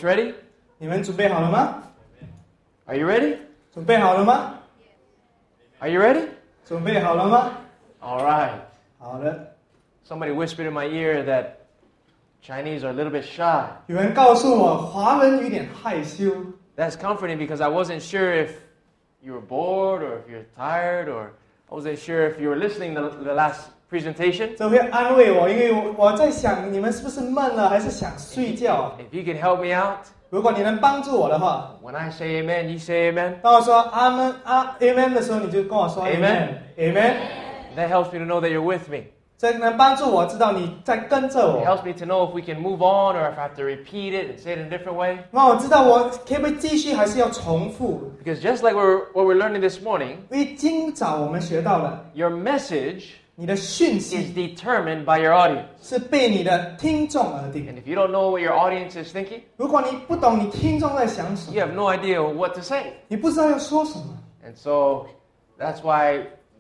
ready? 你们准备好了吗？ Are you ready? 准备好了吗？ Are you ready? 准备好了吗？ All right. 好的。 Somebody whispered in my ear that Chinese are a little bit shy. 有人告诉我，华人有点害羞。 That's comforting because I wasn't sure if you were bored or if you're tired or I wasn't sure if you were listening to the last presentation. 这会安慰我，因为我在想，你们是不是闷了，还是想睡觉？ If you could help me out, 如果你能帮助我的话， when I say amen, you say amen. 当我说阿门amen 的时候，你就跟我说 amen。 That helps me to know that you're with me. 这能帮助我知道你在跟着 It 我， helps me to know if we can move on or if I have to repeat it and say it in a different way. 让我知道我可不可以继续，还是要重复。 Because just like what we're learning this morning, 因为今早我们学到了， your message 你的讯 is 息 determined by your audience. 是被你的听众而定。 And if you don't know what your audience is thinking, 如果你不懂你听众在想什 you 么， have no idea what to say. 你不知道要说什么， And so that's why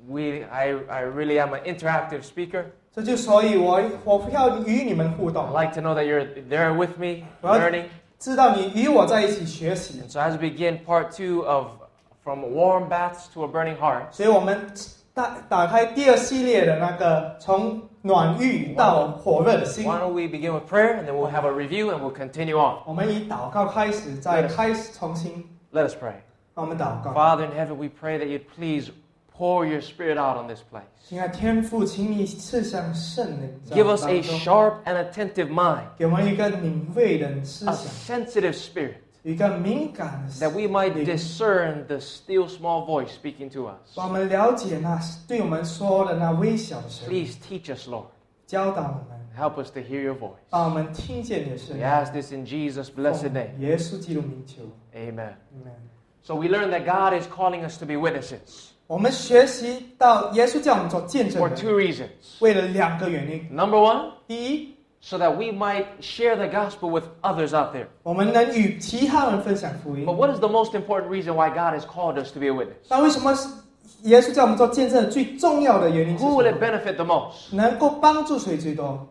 I really am an interactive speaker. 这就所以我要与你们互 I 动， like to know that you're there with me, Well, learning. 知道你与我在一起学习。 And so as we begin part 2 of From Warm Baths to a Burning Heart, 所以我们打开第二系列的那个从暖浴到火热的心。 why don't we begin with prayer and then we'll have a review and we'll continue on. 我们以祷告开始，再开始重新。 Let us pray. 让我们祷告。 Father in heaven, we pray that you'd please pour your spirit out on this place. 亲爱的天父，请你赐上圣灵， Give us a sharp and attentive mind, 给我们一个敏锐的思 a 想， sensitive spirit, 一个敏感的 that we might 灵， discern the still small voice speaking to us. 让我们了解那对我们说的那微小的声音， Please teach us, Lord. 教导我们， Help us to hear your voice. 让我们听见你的声 We 音。 ask this in Jesus' blessed 奉 name. 耶稣基督名求 Amen. ，Amen。 So we learn that God is calling us to be witnesses 我们学习到耶稣叫我们做见证 for 人， two reasons. 为了两个原因。 Number one, 第一， so that we might share the gospel with others out there. 我们能与其他人分享福音 But。what is the most important reason why God has called us to be a witness? 那为什么耶稣叫我们做见证人最重要的原因是什 Who will it 么？ benefit the most? 能够帮助谁最多？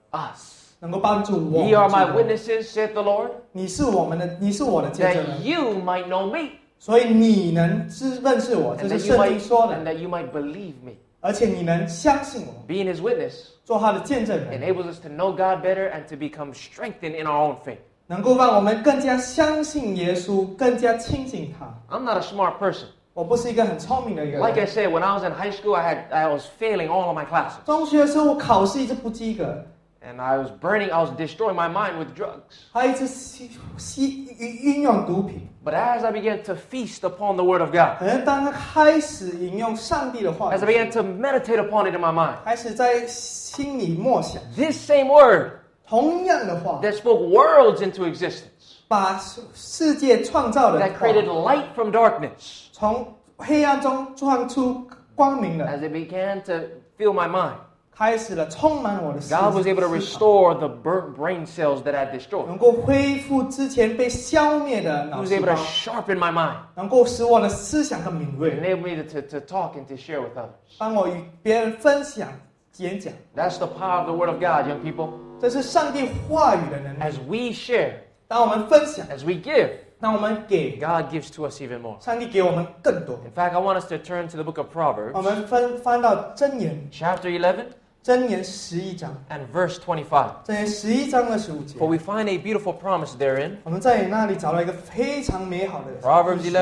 Us. 能够帮助我。 Ye are my witnesses, saith the Lord, 你是我的见证 that 人， you might know me, 所以你能认识我， and 这是 that you 圣经 might, 说的， and that you might believe me. 而且你能相信我， Being his witness 做他的见证人， enables us to know God better and to become strengthened in our own faith. 能够让我们更加相信耶稣，更加亲近他。 I'm not a smart person. 我不是一个很聪明的一个 Like I 人。 said, when I was in high school, I was failing all of my classes. 中学的时候，我考试一直不及格， And I was destroying my mind with drugs. 还一直运用毒品。 But as I began to feast upon the Word of God, 可能当他开始引用上帝的话 as I began to meditate upon it in my mind, 开始在心里默想 this same Word 同样的话， that spoke worlds into existence, 把世界创造的 that 话 created light from darkness, 从黑暗中创出光明的， as it began to fill my mind, 开始了充满我的思 God was able to 思考 restore the burnt brain cells that I had destroyed. 能够恢复之前被消灭的 He 脑 was 细 able 胞 to，sharpen my mind, 能够使我的思想更敏锐， enable me to talk and to share with others. 帮我与别人分享演讲。 That's the power of the Word of God, young people. 这是上帝话语的能力。 As we share, 当我们分享， as we give, 当我们给， God gives to us even more. 上帝给我们更多。 In fact, I want us to turn to the book of 我 Proverbs, 们翻到箴言， chapter 11 箴言11章， and verse 25. 箴言11章25节 For，we find a beautiful promise therein. 我们在那里找到一个非常美好的 Proverbs 故事。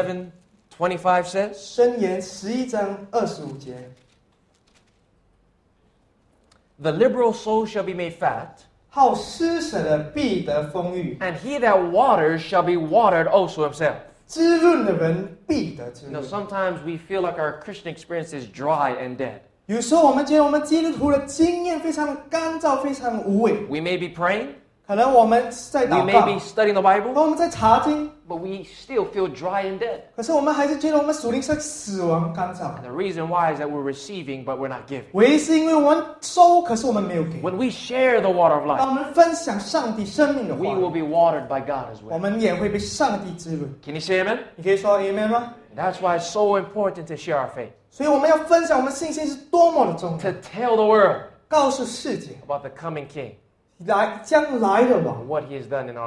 11:25 says, 箴言11章25节， The liberal soul shall be made fat, 好施舍的必得丰裕， and he that waters shall be watered also himself. 滋润的人必得滋 You know, 润。 sometimes we feel like our Christian experience is dry and dead. 有时候我们觉得我们基督徒的经验非常干燥，非常无味。 We may be praying, 可能我们在 we 祷 may 告， be studying the Bible, 和我们在查经， but we still feel dry and dead. 可是我们还是觉得我们属灵是死亡干燥。 And the reason why is that we're receiving, but we're not giving. 唯一是因为我们收，可是我们没有给。 When we share the water of 当 life, 我们分享上帝生命的 we 话 will，be watered by God as 我 well. 们也会被上帝滋润。 Can you say amen? 你可以说 Amen 吗？ That's why it's so important to share our faith. 所以我们要分享我们信心是多么的重 To 要， tell the world 告诉世界 about the coming King 将来的 and 王， what he has done in our lives.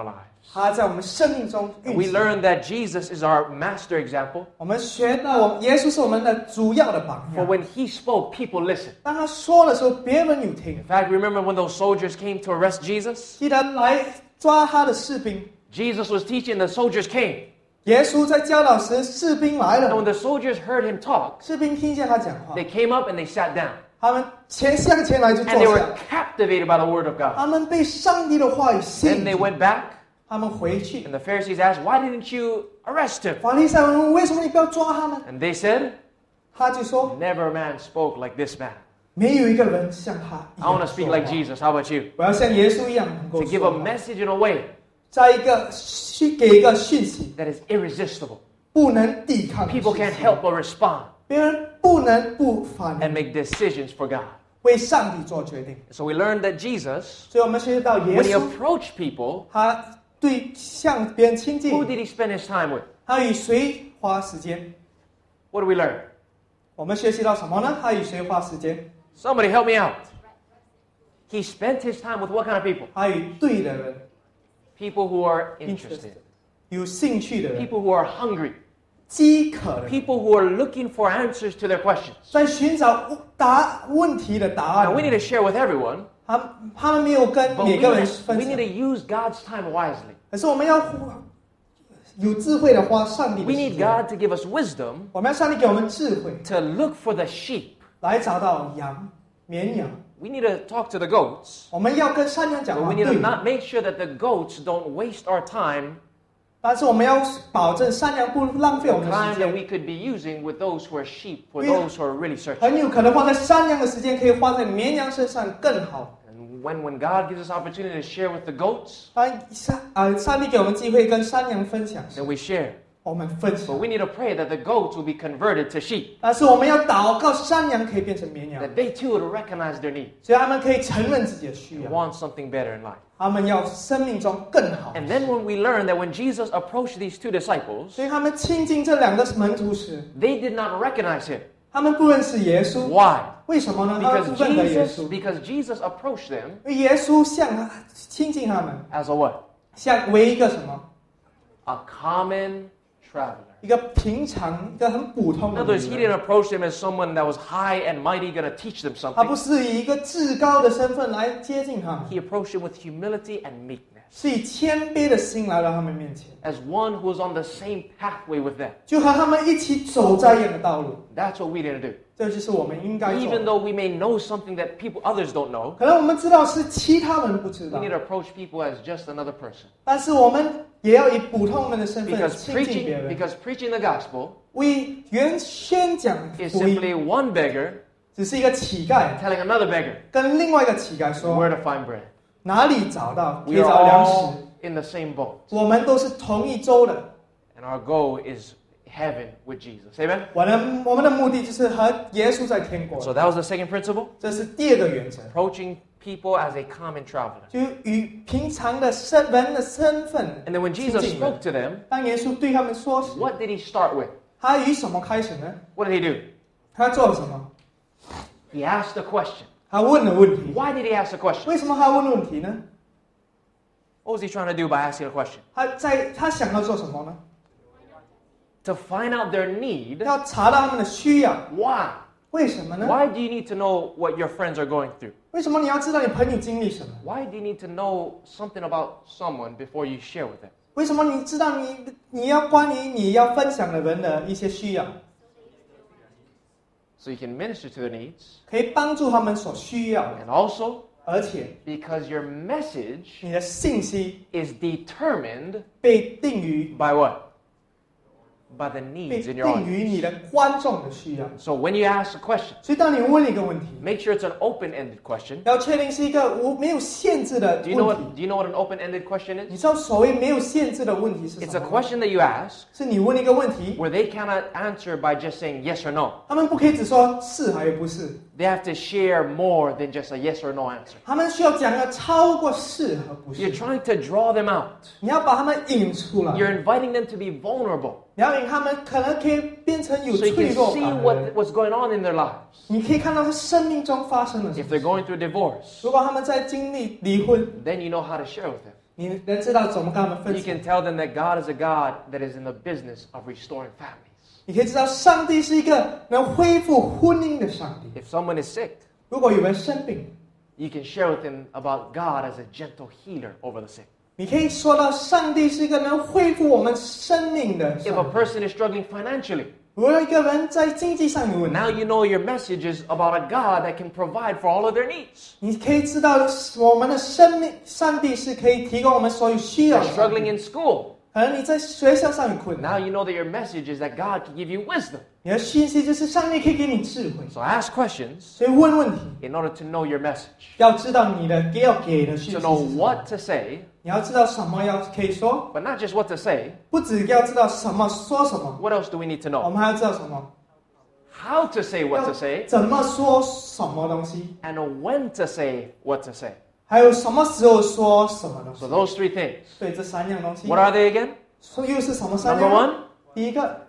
它在我们生命中 And 运 we 行。 learn that Jesus is our master example. 我们学到耶稣是我们的主要的榜 For 样。 when he spoke, people listened. 当他说的时候，别人有听 In。fact, remember when those soldiers came to arrest Jesus? 记得来抓他的士兵， Jesus was teaching, the soldiers came. 耶稣在教导时，士兵来 And when 了， the soldiers heard him talk, 士兵听见他讲话， they came up and they sat down. 他们向前来就 And they 坐 were 下， captivated by the word of God. 他们被上帝的话语吸 Then 引 they 住， went back, 他们回去。 and the Pharisees asked, why didn't you arrest him? 法利赛人问：“为什么你不要抓他呢 And they said, ？” 他就说 never a man spoke like this man.：“ 没有一个人像他一 I want to 样 speak 说 like 话。 Jesus. How about you? 我要像耶稣一样能 To 够 give 说 a 话， message in a way 在一个去给一个讯息， that is irresistible. 不能抵抗的讯息。 People can't help but respond 别人不能不反 and 应， make decisions for God. 为上帝做决定。 So we learned that Jesus, 所以我们学习到耶 when he 稣， approached people, 他对向别人亲 who 近， did he spend his time with? 他与谁花时间？ What do we learn? 我们学习到什么呢？他与谁花时间？ Somebody help me out. He spent his time with what kind of people? 他与对的人 People who are interested. 有兴趣的人， People who are hungry. 饥渴的人， People who are looking for answers to their questions. 在寻找问题的答案 Now, we need to share with everyone, 他们没有跟 but 每 we 个人 need 分 to 享， use God's time wisely. 可是我们要有智慧的花上帝的 We 时 need 间。 God to give us wisdom 我们要上帝给我们智慧， to look for the sheep. 来找到羊、绵羊。 We need to talk to the goats, 我们要跟山羊 but 讲 we 话， need to 对， not make sure that the goats don't waste our time, 但是我们要保证山羊不浪费 the 我们的 time 时 that 间。 we could be using with those who are sheep, for We- those who are really searching. 很有可能花在山羊的时间，可以花在绵羊身上更好。 And when God gives us opportunity to share with the goats, 上帝给我们机会跟山羊分享， then we share. 我们分 But 享。 we need to pray that the goats will be converted to sheep, 但是我们要祷告，山羊可以变成绵羊， that they too will recognize their need 所以他们可以承认自己的需 and 要， want something better in life. 他们要生命中更好。 And then when we learn that when Jesus approached these two disciples, 所以他们亲近这两个门徒时， they did not recognize him. 他们不认识耶稣， Why? 为什么呢？他们 Because 不认得耶稣， Jesus approached them 因为耶稣亲近他们， as a what? 像为一个什么？ A common traveler. 一个平常、一个很普通 In 的 other words, he 人。 didn't approach them as someone that was high and mighty going to teach them 他不 something. 是以一个至高的身份来接近他们， He approached them with humility and meekness, 是以谦卑的心来到他们面前， as one who was on the same pathway with them. 就和他们一起走在一样的道路。 That's what we need to do. 这就是我们应该做 Even 的。 though we may know something that others don't know, 可能我们知道是其他人不知 we 道 need，to approach people as just another person. 但是我们也要以普通人的身份 Because 亲近别人。 preaching the gospel 为原宣讲 is 福音， simply one beggar 只是一个乞丐 telling another beggar 跟另外一个乞丐说 where to find bread. 哪里找到可以 We are 找粮食。 all in the same boat, 我们都是同一州的， and our goal is heaven with Jesus. Amen? 我们的目的就是和耶稣在天国。 So that was the second principle, 这是第二个原则， approaching people as a common traveler. 就与平常的人的身份 And then when 亲 Jesus 近人 spoke to them, 当耶稣对他们说时， what did he start with? 他以什么开始呢？ What did he do? 他做了什么？ He asked a question. 他问了问题。 Why did he ask a question? 为什么他问问题呢？ What was he trying to do by asking a question? 他想要做什么呢？ To find out their need. 要查到他们的需要。 Why? 为什么呢？ Why do you need to know what your friends are going through? 为什么你要知道你朋友经历什么？ Why do you need to know something about someone before you share with them? 为什么你知道你要关于你要分享的人的一些需要， So you can minister to their needs. 可以帮助他们所需要的， And also, 而且 because your message 你的信息 is determined 被定于 by what? By the 被 needs in your 定于 audience. 你的观众的需要。 So when you ask a question, 所以当你问一个问题， make sure it's an open-ended question. 要确定是一个没有限制的 Do you know 问 what? 题。 Do you know what an open-ended question 你 is? 知道所谓没有限制的问题是 It's 什 a 么吗？ question that you ask 是你问一个问题， where they cannot answer by just saying yes or no. 他们不可以只说是还是不是， They have to share more than just a yes or no answer. 他们需要讲的超过是和不 You're 是。 trying to draw them out. 你要把他们引出来， You're inviting them to be vulnerable 你要引他们可能可以变成有 so you 脆 can 弱 see 感的 what, 人。 what's going on in their lives. 你可以看到他生命中发生了什 If 么 they're。going through a divorce, 如果他们在经历离婚， then you know how to share with them. 你能知道怎么跟他们分 You 享。 can tell them that God is a God that is in the business of restoring families. 你可以知道，上帝是一个能恢复婚姻的上帝。 If someone is sick, 如果有人生病， you can share with them about God as a gentle healer over the sick. 你可以说到上帝是一个能恢复我们生命的 If a 上帝。 person is struggling financially, 如果一个人在经济上有问题， now you know your message is about a God that can provide for all of their needs. 你可以知道我们的生命，上帝是可以提供我们所有需要 You're 的上帝。 struggling in school. 可能你在学校上有困 Now 难， you know that your message is that God can give you wisdom. 你的讯息就是上帝可以给你智慧， So ask questions 所以问问题， in order to know your message, 要知道你的要给的讯息 to 是 know 什么， what to say, 你要知道什么要可以说， but not just what to say. 不只要知道什么说什么， What else do we need to 我 know? 们还要知道什么， How to say what to 要 say, 怎么说什么东西， and when to say what to say. 还有什么时候说什么东 So 西。 those three things. 对，这三样东西， What are they again? 说又是什么三 Number 样？ one, 第一个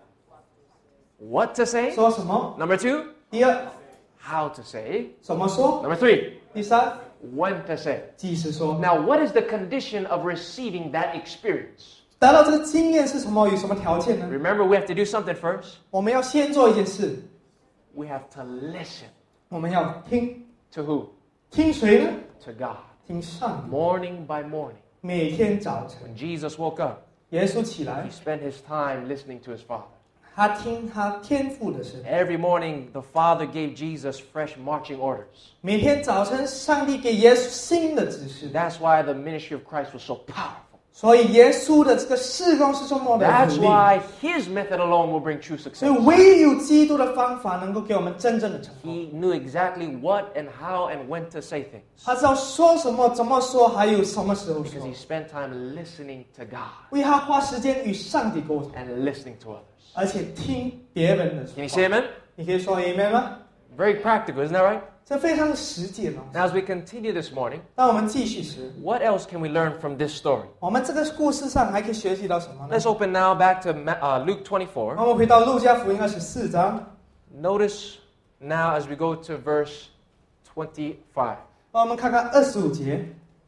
what to say. 说什么？ Number two, 第二 how to say. 怎么说？ Number three, 第三 when to say. 即时说。 Now, what is the condition of receiving that experience? 达到这个经验是什么？有什么条件呢？ Remember, we have to do something first. 我们要先做一件事， We have to listen. 我们要听， To who? 听谁呢？ To God. 听上帝。 Morning by morning. 每天早晨， When Jesus woke up, 耶稣起来 he，spent his time listening to his Father. 他听他天父的声音。 Every morning, the Father gave Jesus fresh marching orders. 每天早晨，上帝给耶稣新的指示， That's why the ministry of Christ was so powerful. 所以耶稣的这个事工是这么的 That's 有力。 why his method alone will bring true 所以 success. 唯有基督的方法能够给我们真正的成功。 He knew exactly what and how and when to say things 他知道说什么、怎么说，还有什么时候 because 说 he。spent time listening to God 为他花时间与上帝沟通， and listening to others. 而且听别人的 Can you 话。 say amen? 你可以说 amen 吗？ Very practical, isn't that right? 这非常的实际嘛。 Now, as we continue this morning, 当我们继续时， what else can we learn from this story? 我们这个故事上还可以学习到什么呢 Let's？open now back to Luke 那 24. 我们回到路加福音24章， Notice now as we go to verse 25. 让我们看看25节。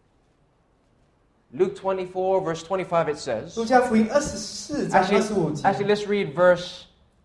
Luke 24, verse 25, it says. 路加福音24章25节。 Actually, let's read verse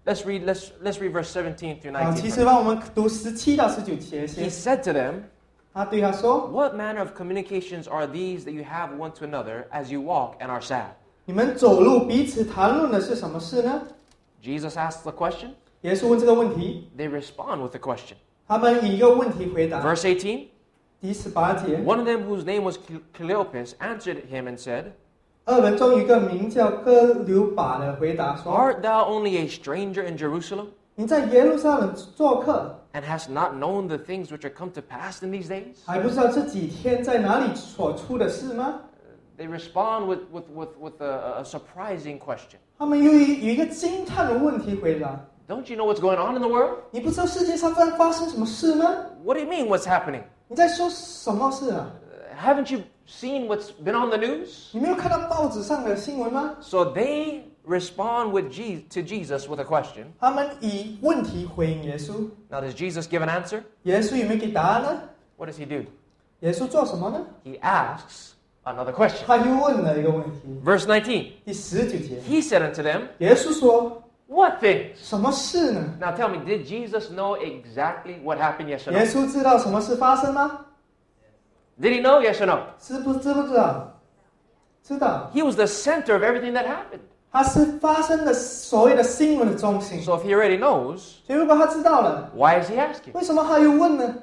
17 through 好， 19. 其实让我们读17到19节 He 先。 said to them, 他对他说 "What manner of communications are these that you have one to another as you walk and are sad?" 你们走路彼此谈论的是什么事呢？ Jesus asks the question. 耶稣问这个问题， They respond with a question. 他们以一个问题回答。 Verse 18. 第18节， One of them, whose name was Cleopas, answered him and said, 二人中有一个名叫哥留巴的回答说 "Art thou only a stranger in Jerusalem, 你在耶路撒冷做客， and hast not known the things which are come to pass in these days?" 还不知道这几天在哪里所出的事吗？ They respond with a surprising question. 他们有一个惊叹的问题回答： Don't you know what's going on in the world? 你不知道世界上发生什么事吗？ What do you mean, what's happening? 你在说什么事啊？ Haven't you seen what's been on the news? 你没有看到报纸上的新闻吗？ So they respond to Jesus with a question. 他们以问题回应耶稣。 Now, does Jesus give an answer? 耶稣有没有给答案呢？ What does he do? 耶稣做什么呢？ He asks another question. 他又问了一个问题。 Verse 19. 第19节， He said unto them, 耶稣说 "What things?" 什么事呢？ Now tell me, did Jesus know exactly what happened? Yes or 耶 no? 稣知道什么事发生吗？ Did he know? Yes or no? 知不知道？知道， He was the center of everything that happened. 他是发生的所谓的新闻的中心。 So if he already knows, 所以如果他知道了， why is he asking? 为什么他又问呢？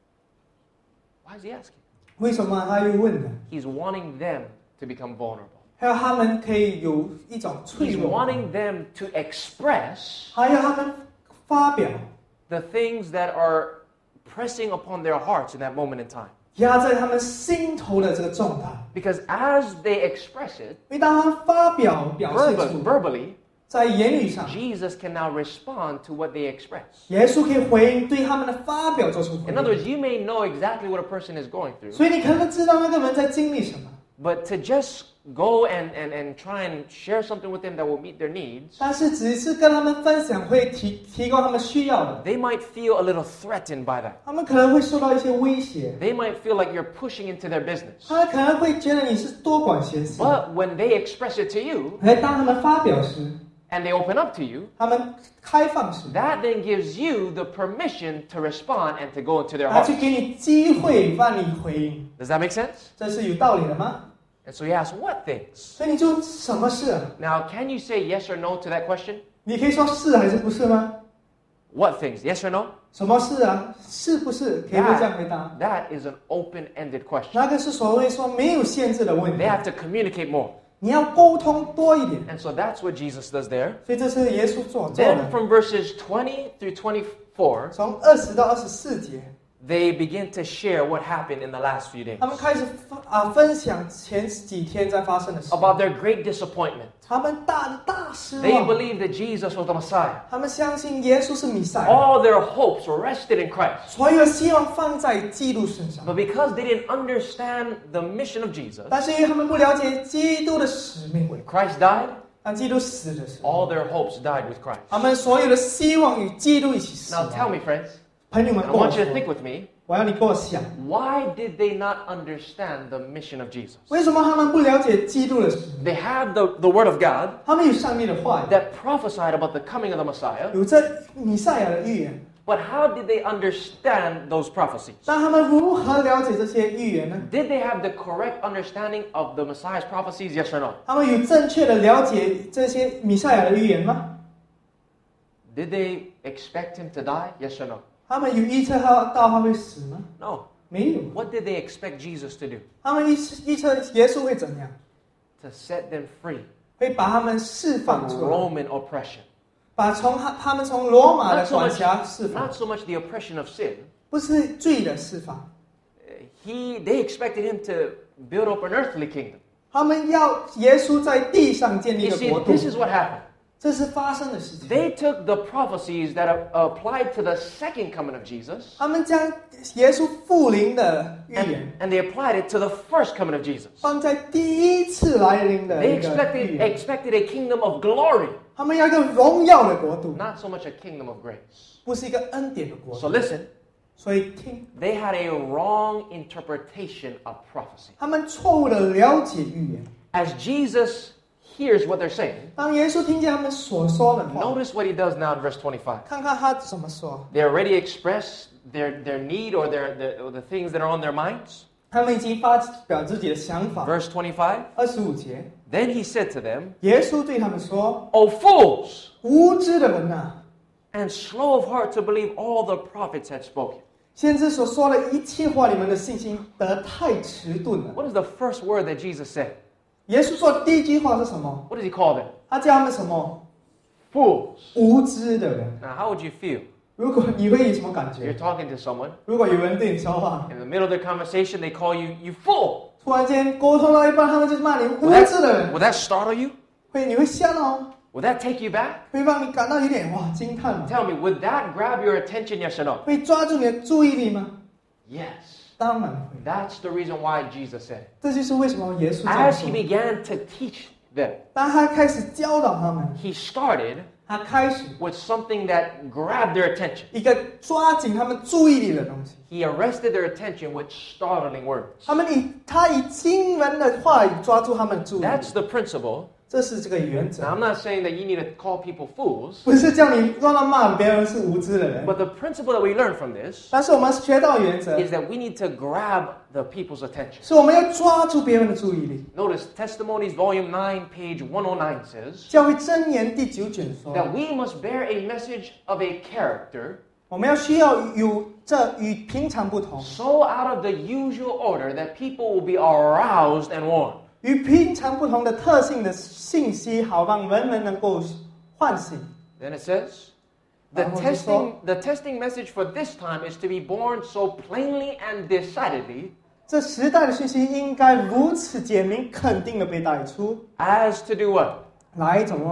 Why is he asking? 为什么他又问呢？ He's wanting them to become vulnerable. 还有他们可以有一种脆 He's 弱， wanting them to express 还有他们发表 the things that are pressing upon their hearts in that moment in time. 压在他们心头的这个重担。 Because as they express it 因为当他们发表现出 verbally, 在言语上， Jesus can now respond to what they express. 耶稣可以回应对他们的发表做出回 In other 应。 words, you may know exactly what a person is going through, 所以你可能知道那个人在经历什么， but to just go and try and share something with them that will meet their needs, 但是只是跟他们分享会提供他们需要的， they might feel a little threatened by that. 他们可能会受到一些威胁， They might feel like you're pushing into their business. 他们可能会觉得你是多管闲事。 But when they express it to you 而当他们发表时， and they open up to you, 他们开放时， that then gives you the permission to respond and to go into their 他 heart. 去给你机会让你回应， Does that make sense? 这是有道理的吗？ And so you ask, what things? 所以你就什么事啊？ Now, can you say yes or no to that question? 你可以说是还是不是吗？ What things? Yes or no? 什么事啊？是不是？可以这样回答。 That is an open-ended question. 那个是所谓说没有限制的问题 They，have to communicate more. 你要沟通多一点。 And so that's what Jesus does there. 所以这是耶稣做 Then 的。 from verses 20 through 24, 从20到24节， they begin to share what happened in the last few days 他们开始分享前几天在发生的事， about their great disappointment. 他们大失 They 望。 believed that Jesus was the Messiah. 他们相信耶稣是弥赛亚， All their hopes were rested in Christ. 所有的希望放在基督身上。 But because they didn't understand the mission of Jesus, 但是因为他们不了解基督的使命， when Christ died, 当基督死的时候， all their hopes died with Christ. 他们所有的希望与基督一起死 Now tell 亡。 me, friends, 朋友们 I 跟我 want you to 说， think with me, 我要你跟我想， why did they not understand the mission of Jesus? 为什么他们不了解基督的使命？ They had the Word of God 他们有上帝的话语， that prophesied about the coming of the Messiah, 有这弥赛亚的预言， but how did they understand those prophecies? 但他们如何了解这些预言呢？ Did they have the correct understanding of the Messiah's prophecies? Yes or no? 他们有正确的了解这些弥赛亚的预言吗？ Did they expect him to die? Yes or no? 他们有预测到他会死吗？ No. 没有。 What did they expect Jesus to do? 他们预测耶稣会怎样？ To set them free 会把他们释放 from 出来， Roman oppression. 把他们从罗马的 Not so 管 much, 辖释放， not so much the oppression of sin. 不是罪的释放。 They expected him to build up an earthly kingdom. 他们要耶稣在地上建立一 You 个 see, 国度， this is what happened. 这是发生的事情。 They took the prophecies that applied to the second coming of Jesus, 他们将耶稣复临的预言 and they applied it to the first coming of Jesus. 放在第一次来临的 They 一个预言。 expected a kingdom of glory, 他们要一个荣耀的国度， not so much a kingdom of grace. 不是一个恩典的国 So 度。 listen, 所以听， they had a wrong interpretation of prophecy. 他们错误的了解预言。 As Jesus hears what they're saying, 当耶稣听见他们所说的话， notice what he does now in verse 25. 看看他怎么说。 They already express their need or the things that are on their minds. 他们已经发表自己的想法。 Verse 25. 25节， Then he said to them, 耶稣对他们说 O fools, 无知的人啊， and slow of heart to believe all the prophets had spoken. 先知所说的一切话，你们的信心得太迟钝了。 What is the first word that Jesus said? 耶稣说的第一句话是什么？ What does he call them? 他叫他们什么？ Fools. 无知的人。 Now, how would you feel? 如果你会有什么感 You're 觉？ talking to someone. 如果有人对你说话， In the middle of their conversation, they call you, you fool. 突然间沟通到一半，他们就骂你无 Will 知的人， that startle you? 你会吓到吗？ Will that take you back? 会让你感到有点哇惊叹吗？ Tell me, would that grab your attention, yes or no? 会抓住你的注意力吗？ Yes. 当然会。 That's the reason why Jesus said. 这就是为什么耶稣这样 As he 说。 began to teach them, 当他开始教导他们， he started 他开始 with something that grabbed their attention. 一个抓紧他们注意力的东西。 He arrested their attention with startling words. 他以惊人的话语抓住他们的注意力， That's the principle. 这是这个原则 Now, I'm not saying that you need to call people fools, 不是叫你让他骂别人是无知的人， but the principle that we learn from this 但是我们学到原则 is that we need to grab the people's attention. 是我们要抓住别人的注意力。 Notice Testimonies, Volume 9, page 109 says 教会箴言第9卷说， that we must bear a message of a character 我们需要有这与平常不同， so out of the usual order that people will be aroused and warned. 与平常不同的特性的信息，好让人们能够唤醒。 Then it says, the testing message for this time is to be born so plainly and decidedly 这时代的信息应该如此简明、肯定的被带出， as to do what? 来怎么样？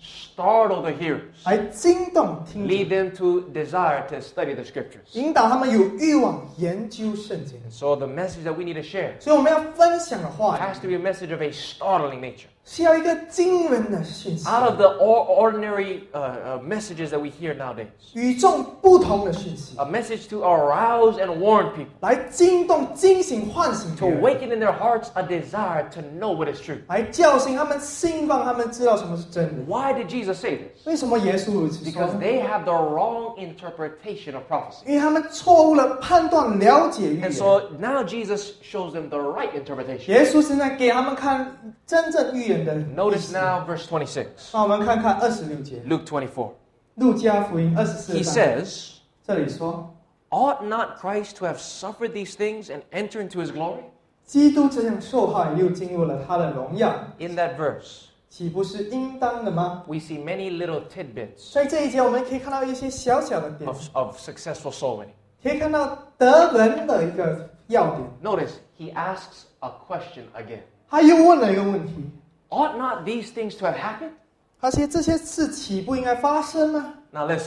startle the hearers, 来惊动听 lead 者， them to desire to study the scriptures. 引导他们有欲望研究圣经。 So the message that we need to share 所以我们要分享的话 has to be a message of a startling nature. 是要一个惊人的讯息， Out of the ordinary messages that we hear nowadays. 与众不同的讯息， A message to arouse and warn people, 来惊动、惊醒、唤醒 to 别人， awaken in their hearts a desire to know what is true. 来叫醒他们心，让他们知道什么是真的。 Why did Jesus say this? 为什么耶稣如此说 Because 呢？ they have the wrong interpretation of prophecy. 因为他们错误了判断、了解预 And 言。 so now Jesus shows them the right interpretation. 耶稣现在给他们看真正预言的意 Notice 思。 now verse 26, 那我们看看26节， Luke 24. 路加福音24 He 章， says, 这里说， ought not Christ to have suffered these things and enter into his glory? 基督这样受害，又进入了他的荣耀， In that verse, 岂不是应当的吗？ we see many little tidbits 所以这一节我们可以看到一些小小的点， of successful soul winning. 可以看到得人的一个要点。 Notice, he asks a question again. 他又问了一个问题， Ought not these things to have happened? 而且这些事岂不应该发生吗？ Now listen,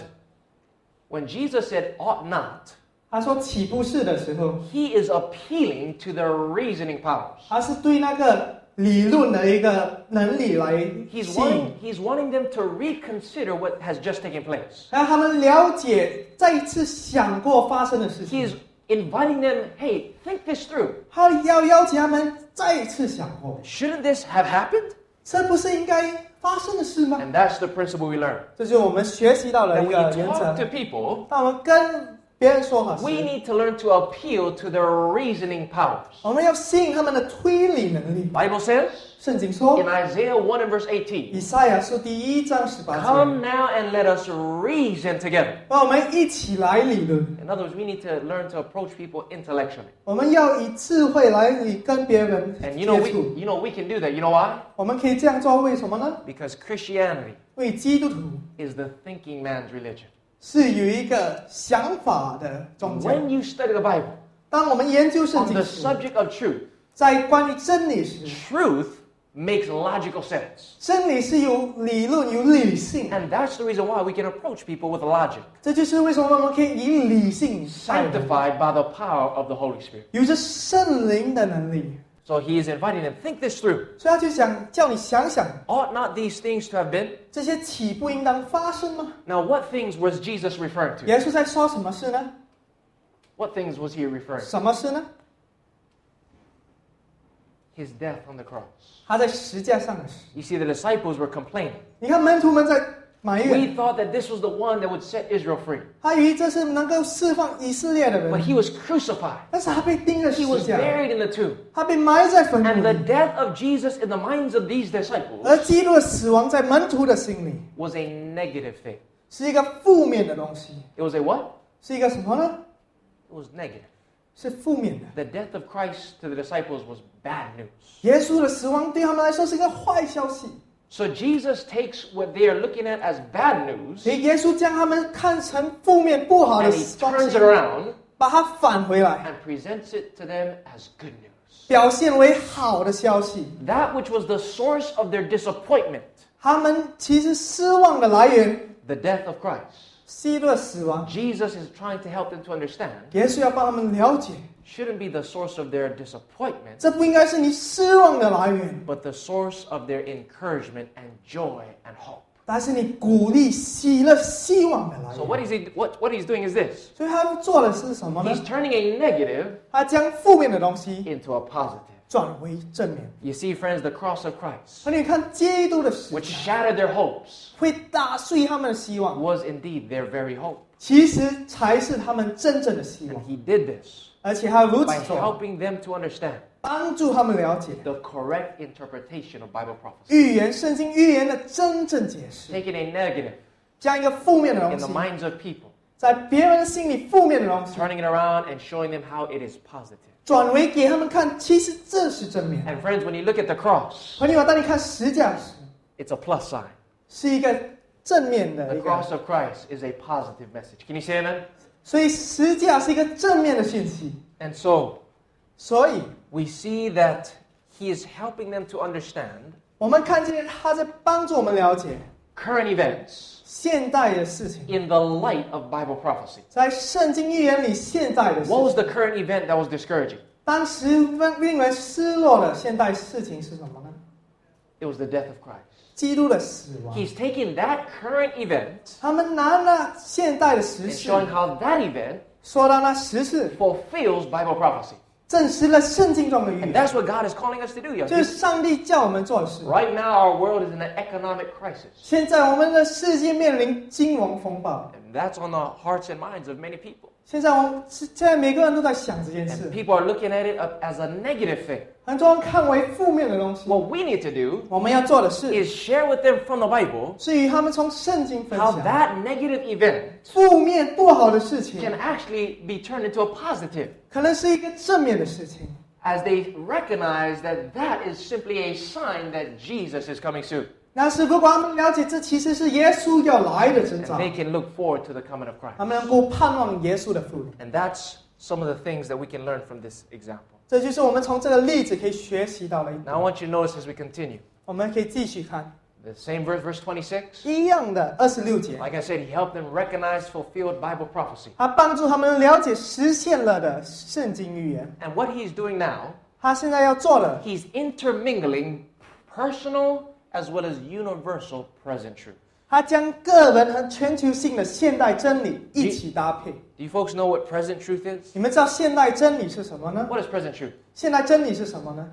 when Jesus said ought not, 他说岂不是的时候， he is appealing to their reasoning powers. 他是对那个理论的一个能力来 He's 吸引， wanting them to reconsider what has just taken place. 让他们了解再一次想过发生的事 He's 情。 inviting them, hey, think this through. 他要邀请他们再一次想过， Shouldn't this have happened? 这不是应该发生的事吗？ And that's the principle we learn. 这就是我们学习到的 That 一 when 个 you 原 talk 则 to。people, 当我们跟别人说话时， we need to learn to appeal to their reasoning powers. 我们要吸引他们的推理能力。 Bible says 圣经说 in，Isaiah 1 and verse 18, 以赛亚书第1章18 come 节， now and let us reason together. 让我们一起来理论。 In other words, we need to learn to approach people intellectually. 我们要以智慧来跟别人 And 接 触。 we can do that. You know why? 我们可以这样做，为什么呢？ Because Christianity 为基督徒 is the thinking man's religion. 是有一个想法的宗教。 When you study the Bible 当我们研究圣 on 经 the 时， subject of truth, 在关于真理时， truth makes logical sense. 真理是有理论、有理性， And that's the reason why we can approach people with logic, 这就是为什么我们可以以理性待人， sanctified by the power of the Holy Spirit. 有着圣灵的能力。 So he is inviting them, think this through. 所以他就想叫你想想， Ought not these things to have been? 这些岂不应当发生吗？ Now, what things was Jesus referring to? 耶稣在说什么事呢？ What things was he referring to? 什么事呢？ His death on the cross. 他在石架上的事。 You see, the disciples were complaining. 你看门徒们在埋 We 怨， thought that this was the one that would set Israel free. 他以为这是能够释放以色列的 But 人， he was crucified. 但是他被钉在 He 石 was 架， buried in the tomb. 他被埋在坟 And 墓 the 里。 death of Jesus in the minds of these disciples 而基督的死亡在门徒的心里 was a negative thing. 是一个负面的东西， It was a what? 是一个什么呢？ It was negative. 是负面的。 The death of Christ to the disciples was bad news. 耶稣的死亡对他们来说是一个坏消息， So Jesus takes what they are looking at as bad news 所以耶稣将他们看成负面不好的 and he 东 turns 西 it，around 把它返回来， and presents it to them as good news. 表现为好的消息。 That which was the source of their disappointment, 他们其实失望的来源， the death of Christ. 基督的死亡， Jesus is trying to help them to understand, 耶稣要帮他们了解， shouldn't be the source of their disappointment, 这不应该是你失望的来源， but the source of their encouragement and joy and hope. 但是你鼓励、喜乐、希望的来 So 源。 what he's doing is this. 所以他做的是什么呢 He's？turning a negative 他将负面的东西 into a positive. 转为正面。 You see, friends, the cross of Christ, 而你看基督的死 which 架 shattered their hopes, 会打碎他们的希望， was indeed their very hope. 其实才是他们真正的希 And 望。 he did this 而且他如 by 此做， helping them to understand 帮助他们了解 the correct interpretation of Bible prophecy. 预言圣经预言的真正解释， Taking a negative 将一个负面的 in 东 the 西， minds of people, 在别人的心里负面的东西， turning it around and showing them how it is positive. 转为给他们看，其实这是正面。 And friends, when you look at the cross, 朋友，当你看十架时， it's a plus sign. 是一个正面的 The 一个， cross of Christ is a positive message. Can you say amen? 所以十架是一个正面的信息。 And so 所以 we see that he is helping them to understand 我们看见他在帮助我们了解， current events 现代的事情， in the light of Bible prophecy. 在圣经预言里现代的事 What was 情。 the current event that was discouraging? 当时令人失落的现代事情是什么呢？ It was the death of Christ. 基督的死亡。 He's taking that current event 他们拿了现代的时 and 事， showing how that event 说到那时事， fulfills Bible prophecy. 证实了圣经中的预 And 言， that's what God is calling us to do, young 就是 people. 上帝叫我们做的事。 Right now, our world is in an economic crisis. 现在我们的世界面临金融风暴， And that's on the hearts and minds of many people. 现在每个人都在想这件 And 事， people are looking at it as a negative thing. 很多人看为负面的东西。 What we need to do 我们要做的事 is share with them from the Bible 是与他们从圣经分 how 享 that negative event 负面不好的事情， can actually be turned into a positive 可能是一个正面的事情。 as they recognize that that is simply a sign that Jesus is coming soon. 但是如果他们了解这其实是耶稣要来的征 And 兆， they can look forward to the coming of 他 Christ. 们能够盼望耶稣的复临。 And that's some of the things that we can learn from this example. 这就是我们从这个例子可以学习到的一 Now 点。 I want you to notice as we continue. 我们可以继续看 The same verse, verse 26. 一样的26节， Like I said, he helped them recognize fulfilled Bible prophecy. 他帮助他们了解实现了的圣经预言。 And what he's doing now, 他现在要做的， he's intermingling personal as well as universal present truth. 他将个人和全球性的现代真理一起搭配。 Do you folks know what present truth is? 你们知道现代真理是什么呢？ What is present truth? 现代真理是什么呢？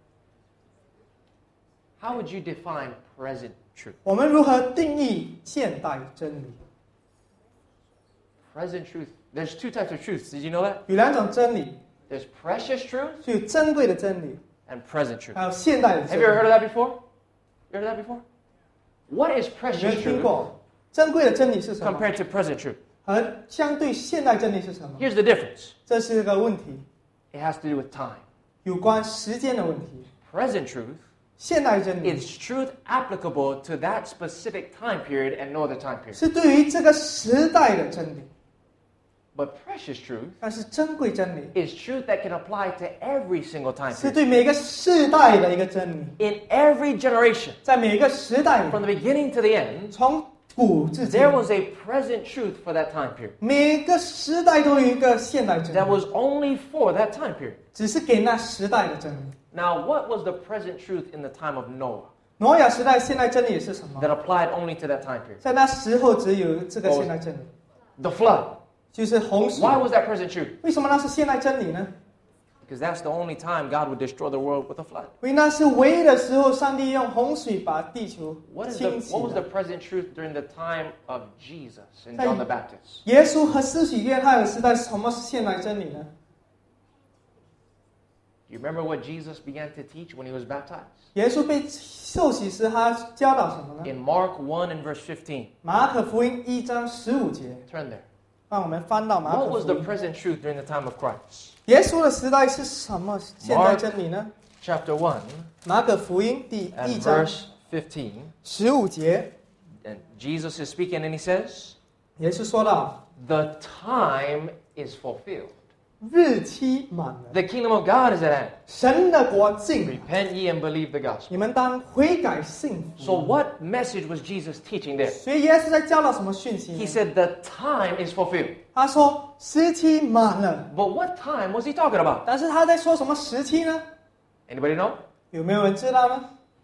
How would you define present truth? 我们如何定义现代真理？ Present truth. There's two types of truths. Did you know that? 有两种真理， There's precious truth 就有珍贵的真理， and present truth. 还有现代的 Have 真 you ever heard 理。 of that before? You heard of that before? What is 有没 precious 有听 truth 过？珍贵的真理是什么？ compared to present truth? 和相对现代真理是什么？ Here's the difference. 这是一个问题， It has to do with time. 有关时间的问题。 Present truth 现代真理 is truth applicable to that specific time period and no other time period. 是对于这个时代的真理， But precious truth 但是珍贵真理 is truth that can apply to every single time 是 period. 对每个世代的一个真理， In every generation, 在每个时代里 from the beginning to the end, 从古至今 there，was a present truth for that time period 每个时代都有一个现代真 that 理， was only for that time period. 只是给那时代的真理。 Now, what was the present truth in the time of Noah 挪亚时代现代真理是什么？ that applied only to that time period? 在那时候只有这个现代真理， The flood. 就是洪水。 Why was that present truth? 为什么那是现代真理呢？ Because that's the only time God would destroy the world with a flood. 因为那是唯一的时候，上帝用洪水把地球 What 清洗 was the 了。 present truth during the time of Jesus and John the Baptist? 耶稣和施洗约翰的时代，什么是现代真理呢？ Do you remember what Jesus began to teach when he was baptized? 耶稣被受洗时，他教导什么呢？ In Mark 1 and verse 15. 马可福音1章15节， Turn there. 让我们翻到马 What 可 was 福 the 音。 present truth during the time of Christ? 耶稣的时代是什么现代真理呢？ Chapter 1 马可福音第 and 1章 verse 15. 15节， And Jesus is speaking and he says, 耶稣说到： The time is fulfilled. 日期满了， The kingdom of God is at hand. 神的国近了， Repent ye and believe the gospel. 你们当悔改信 So 福。 what message was Jesus teaching there? 所以耶稣在教导什么讯息呢 He said the time is fulfilled. 他说时期满了， But what time was he talking about? 但是他在说什么时期呢？ Anybody know? 有没有人知道呢？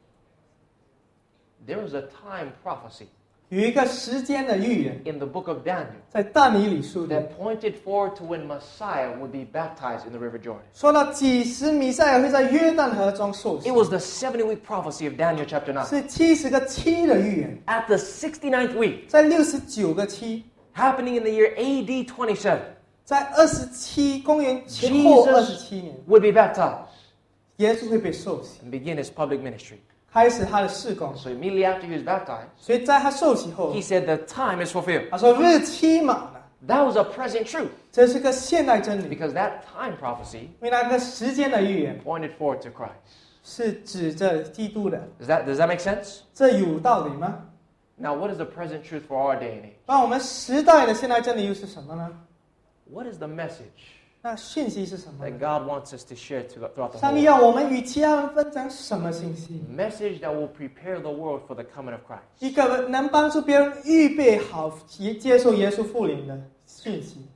There was a time prophecy 有一个时间的预言， in the book of Daniel 在但以理书里 that pointed forward to when Messiah would be baptized in the River Jordan. 说到几时弥赛亚会在约旦河中受洗 It，was the 70-week prophecy of Daniel chapter 9. 是70个期的预言， At the 69th week, 在69个期， happening in the year AD 27, 在公元前后27年， would be baptized 耶稣会被受洗， and begin his public ministry. 开始他的事工。 So immediately after he was baptized, 所以在他受洗后 he，said the time is fulfilled. 他说日期满了， That was a present truth 这是个现代真理， because that time prophecy 因为那个时间的预言 pointed forward to Christ. 是指着基督的， Does that make sense? 这有道理吗？ Now, what is the present truth for our day and age? 那我们时代的现代真理又是什么呢？ What is the message 那讯息是什么 that 呢？ God wants us to share throughout the 上 whole 帝 world? 要我们与其他人分享什么信息？ Message that will prepare the world for the coming of Christ. 一个能帮助别人预备好接受耶稣复临的讯息。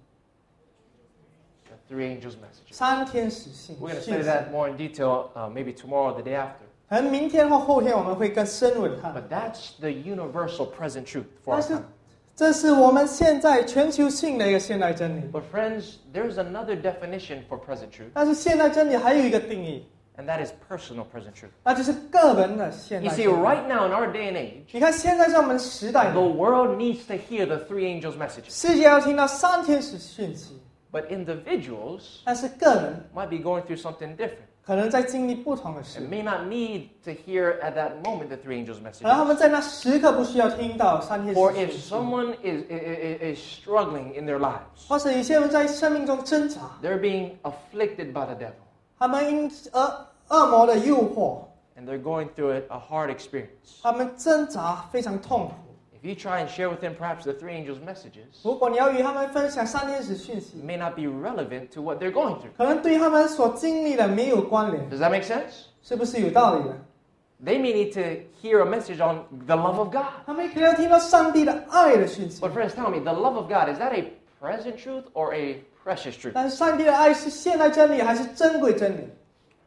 The three angels' messages. 三天使信 We're going to 讯 study 息， that more in detail maybe tomorrow or the day after. 可能明天或后天我们会更深入的看。 But that's the universal present truth for 但 our 是 time. 这是我们现在全球性的一个现代真理。 But friends, there's another definition for present truth, 但是现代真理还有一个定义， and that is personal present truth. 那就是个人的现 You 代 see, 真理。 right now in our day and age, 你看现在在我们时代 the 里， world needs to hear the three angels' messages. 世界要听到三天使讯息， But individuals 但是个人 might be going through something different 可能在经历不同的事 and，may not need to hear at that moment the three angels' 可能他们 messages. 在那时刻不需要听到三天 Or 使 if 讯息， someone is struggling in their lives, 或者有些人在生命中挣扎， they're being afflicted by the devil, 他们因恶魔的诱惑， and they're going through a hard experience. 他们挣扎非常痛苦。 If you try and share with them perhaps the three angels' messages, 如果你要与他们分享三天使讯息 it，may not be relevant to what they're going through. 可能对他们所经历的没有关联， Does that make sense? 是不是有道理的？ They may need to hear a message on the love of God. 他们可能要听到上帝的爱的讯息 But，friends, tell me, the love of God, is that a present truth or a precious truth? 但是上帝的爱是现代真理还是珍贵真理？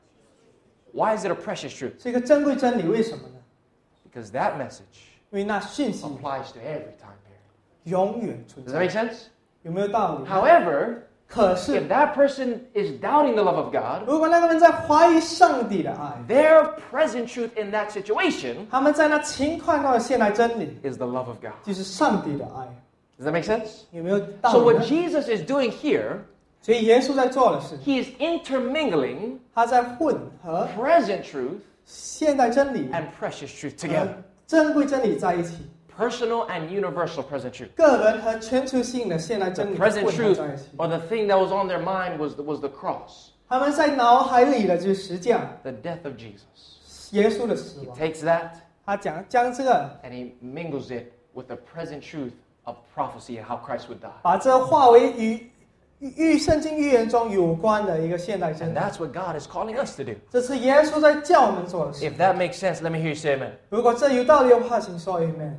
Why is it a precious truth? 是一个珍贵真理，为什么呢？ Because that message 因为那讯息 applies to every time period. 永远存 Does that 在 make，sense? 有没有道理？ However, 可是 if that person is doubting the love of God, 如果那个人在怀疑上帝的爱， their present truth in that situation 他们在那情况中的现代真理 is the love of God. 就是上帝的爱， Does that make sense? 有没有道 So 理 what 呢？ Jesus is doing here, 所以耶稣在做的是， he is intermingling 他在混合 present truth 现代真理 and precious truth 和 together. 珍贵真理在一起， Personal and universal present truth. 个人和全球性的现代 The 真理 present 混合 truth 在一起。 or the thing that was on their mind was the cross, 他们在脑海里的就是实践 the death of Jesus. 耶稣的死 He 亡。 takes that 他将这个 and he mingles it with the present truth of prophecy and how Christ would die. 把这化为与圣经预言中有关的一个现代真 And 理。 that's what God is calling us to do. 这是耶稣在叫我们做的事。 If that makes sense, let me hear you say amen. 如果这有道理的话，请说 Amen。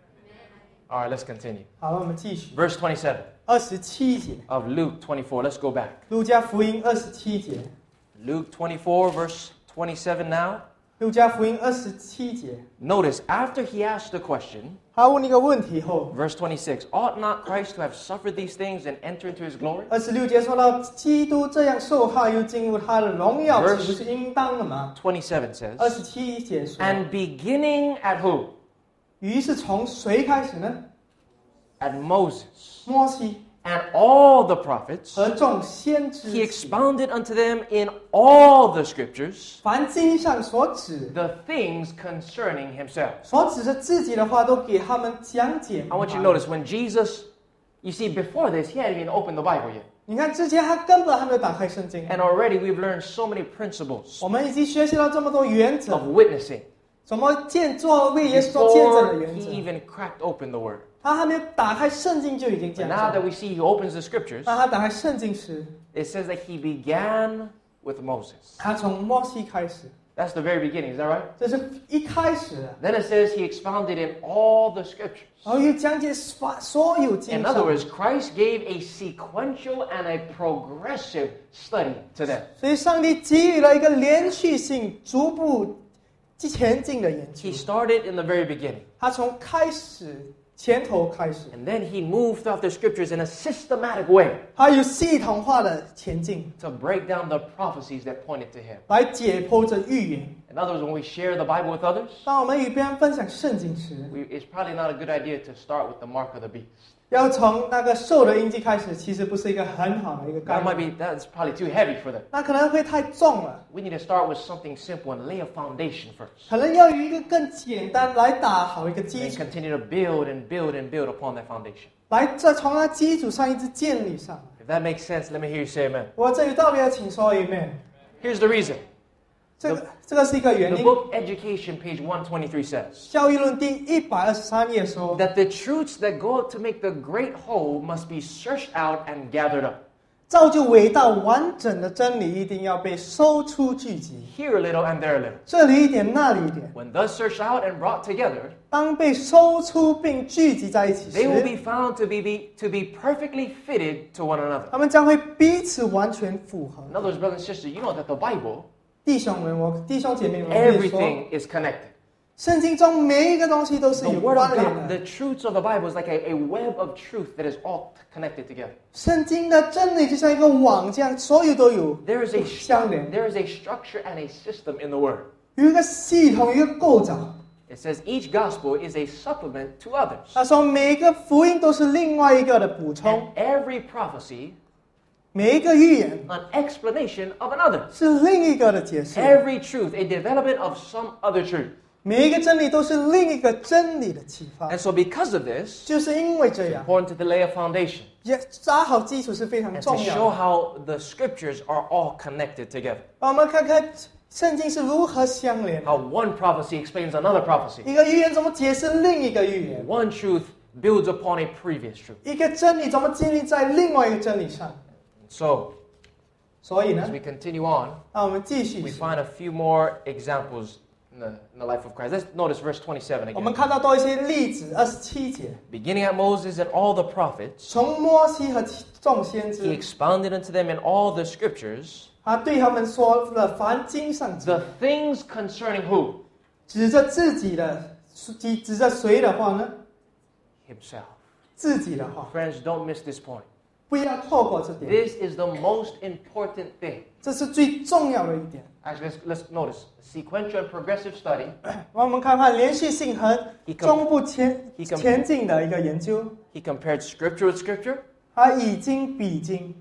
All right, let's continue. 好，我们继续 Verse 27 27节， of Luke 24. Let's go back. 路加福音27节， Luke 24, verse 27 now. 路加福音27节， Notice, after he asked the question, 他问一个问题后， verse 26, ought not Christ to have suffered these things and enter into his glory? 26节说到基督这样受害又进入他的荣耀， Verse- 岂不是应当的吗 27 says, ？27节说， and beginning at who? 于是从谁开始呢？ At Moses 摩西 and all the prophets. 和众先知 He expounded unto them in all the scriptures 凡经上所指 the things concerning himself. 所指着自己的话，都给他们讲解。 I want you to notice when Jesus, you see, before this, he hadn't even opened the Bible yet. 你看之前他根本还没有打开圣经， And already we've learned so many principles 我们已经学习到这么多原则 of，witnessing 怎么做为耶稣做见证的 before 原 he 则。 even cracked open the word. 他还没有打开圣经就已经 But 讲 now that 了。 we see he opens the scriptures, 当他打开圣经时， it says that he began with Moses. 他从摩西开始， That's the very beginning, is that right? 这是一开始的， Then it says he expounded in all the scriptures. 然后又讲解所有经 In other 上。 words, Christ gave a sequential and a progressive study to them. 所以上帝给予了一个连续性、逐步前进的研究 He。started in the very beginning. 他从开始前头开始， And then he moved throughout the scriptures in a systematic way 他有系统化的前进， to break down the prophecies that pointed to him. 来解剖这预言。 In other words, when we share the Bible with others, 当我们与别人分享圣经时， it's probably not a good idea to start with the mark of the beast. 要从那个兽的印记开始，其实不是一个很好的一个概 That might 念， be, that's probably too heavy for them. 那可能会太重了。 We need to start with something simple and lay a foundation first. 可能要有一个更简单来打好一个基 And 础， continue to build and build and build upon that foundation. 来再从那基础上一直建立上来。 If that makes sense, let me hear you say amen. 我这有道理的，请说 Amen。 Here's the reason. 这个是一个原 The 因。 book Education, page 123 says 教育论第123页说， that the truths that go to make the great whole must be searched out and gathered up. 造就伟大完整的真理一定要被搜出聚集， here a little and there a little. 这里一点那里一点。 When thus searched out and brought together, 当被搜出并聚集在一起 they will 时， be found to be perfectly fitted to one another. 他们将会彼此完全符合。 In other words, brothers and sisters, you know that the Bible, 弟兄姐妹们，我跟你说， everything is connected. 圣经中每一个东西都是 The 有 Word 关 of 联 God, 的。 the truths of the Bible is like a web of truth that is all connected together. 圣经的真理就像一个网这样，所有都有 There is a 相连， there is a structure and a system in the Word. 有一个系统，一个构造。 It says each gospel is a supplement to others. 他说每一个福音都是另外一个的补充， And every prophecy, 每一个预言 an explanation of another. 是另一个的解释， Every truth, a development of some other truth. 每一个真理都是另一个真理的启发 And。so because of this, 就是因为这样， important to lay a foundation 也扎好基础是非常 and 重 to 要 show 的。 how the scriptures are all connected together. 让我们看看圣经是如何相连的， How one prophecy explains another prophecy. 一个预言怎么解释另一个预言， One truth builds upon a previous truth. 一个真理怎么建立在另外一个真理上。 So, 所以呢 as，we continue on, 让我们继续 we。find a few more examples in the life of Christ. Let's notice verse 27 我们 again. 看到多一些例子，27节， Beginning at Moses and all the prophets, 从摩西和众先 he 知， expounded unto them in all the scriptures 他对他们说了凡经上记， the things concerning who? 指着自己的，指着谁的话呢？ Himself. 自己的话， Friends, don't miss this point. 不要错过这点， This is the most important thing. 这是最重要的一点。 Actually, let's notice sequential and progressive study. 让我们看看连续性和 He com- 中部 he com- 前进的一个研究， He compared scripture with scripture, 他以经比经，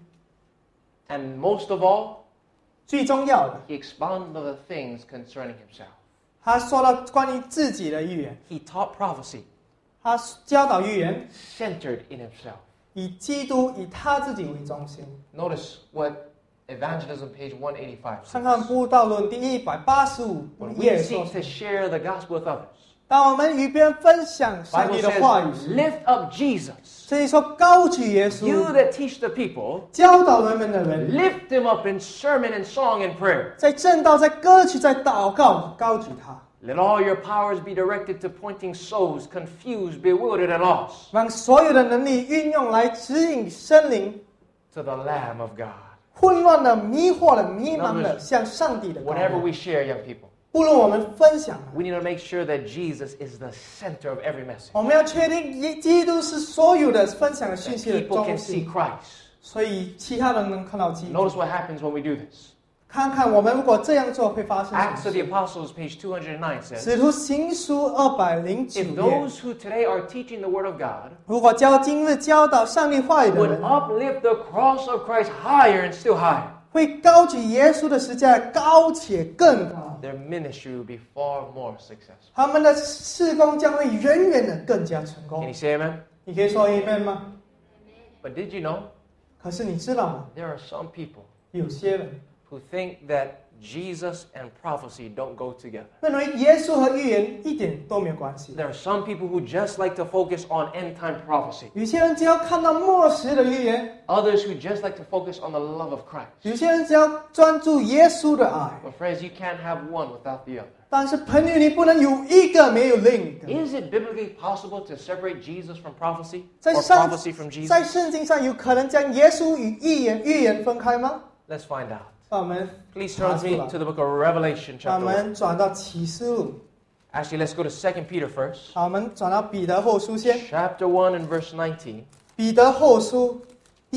and most of all, 最重要的， he expounded the things concerning himself. 他说到关于自己的预言， He taught prophecy 他教导预言， centered in himself. 以基督以他自己为中心。 Notice what Evangelism page 185 看看 says. 布道论第185 When 页 we 说 seek to share the gospel with others, 当我们与别人分享上 Bible 帝的话语 says, 时， lift up Jesus. 所以说高举耶 You 稣， that teach the people, 教导人们的人， lift him up in sermon and song and prayer. 在正道、在歌曲、在祷告，高举他， Let all your powers be directed to pointing souls confused, bewildered, and lost 让所有的能力运用来指引生灵 to the Lamb of God. 混乱的、迷惑的、迷茫的，向上帝的羔 Whenever 羊。 we share, young people, 不论我们分享了， we need to make sure that Jesus is the center of every message. 我们要确定基督是所有的分享的讯 That 息的 people 中 can see 心， Christ. 所以其他人能看到基督。 Notice what happens when we do this. 看看我们如果这样做会发生什 Acts 么 of the 事。 Apostles, page 209 says, 使徒行书209 if 页， those who today are teaching the Word of God 如果今日教导上帝话语的 would 人， uplift the cross of Christ higher and still higher, 会高举耶稣的十字架高且更高， their ministry will be far more successful. 他们的事工将会远远的更加成 Can 功 you。say amen? 你可以说 amen 吗？ But did you know 可是你知道吗？ there are some people 有些人 who think that Jesus and prophecy don't go together? 认为耶稣和预言一点都没有关系。 There are some people who just like to focus on end time prophecy. 有些人只要看到末时的预言， Others who just like to focus on the love of Christ. 有些人只要专注耶稣的爱。 But friends, you can't have one without the other. 但是朋友，你不能有一个没有另一个。 Is it biblically possible to separate Jesus from prophecy? 在 Or 圣 prophecy from Jesus? 在圣经上有可能将耶稣与预言分开吗？ Let's find out. 让我们 Please turn with me to the book of Revelation 让我 chapter 1. 们转到启示录， Actually, let's go to 2 Peter first. 好，我们转到彼得后书先。 Chapter 1 and verse 19. 彼得后书第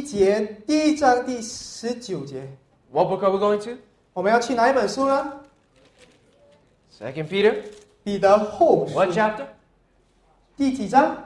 1章第19节， What book are we going to? 我们要去哪一本书呢？ 2 Peter. 彼得后书 What chapter? 第几章？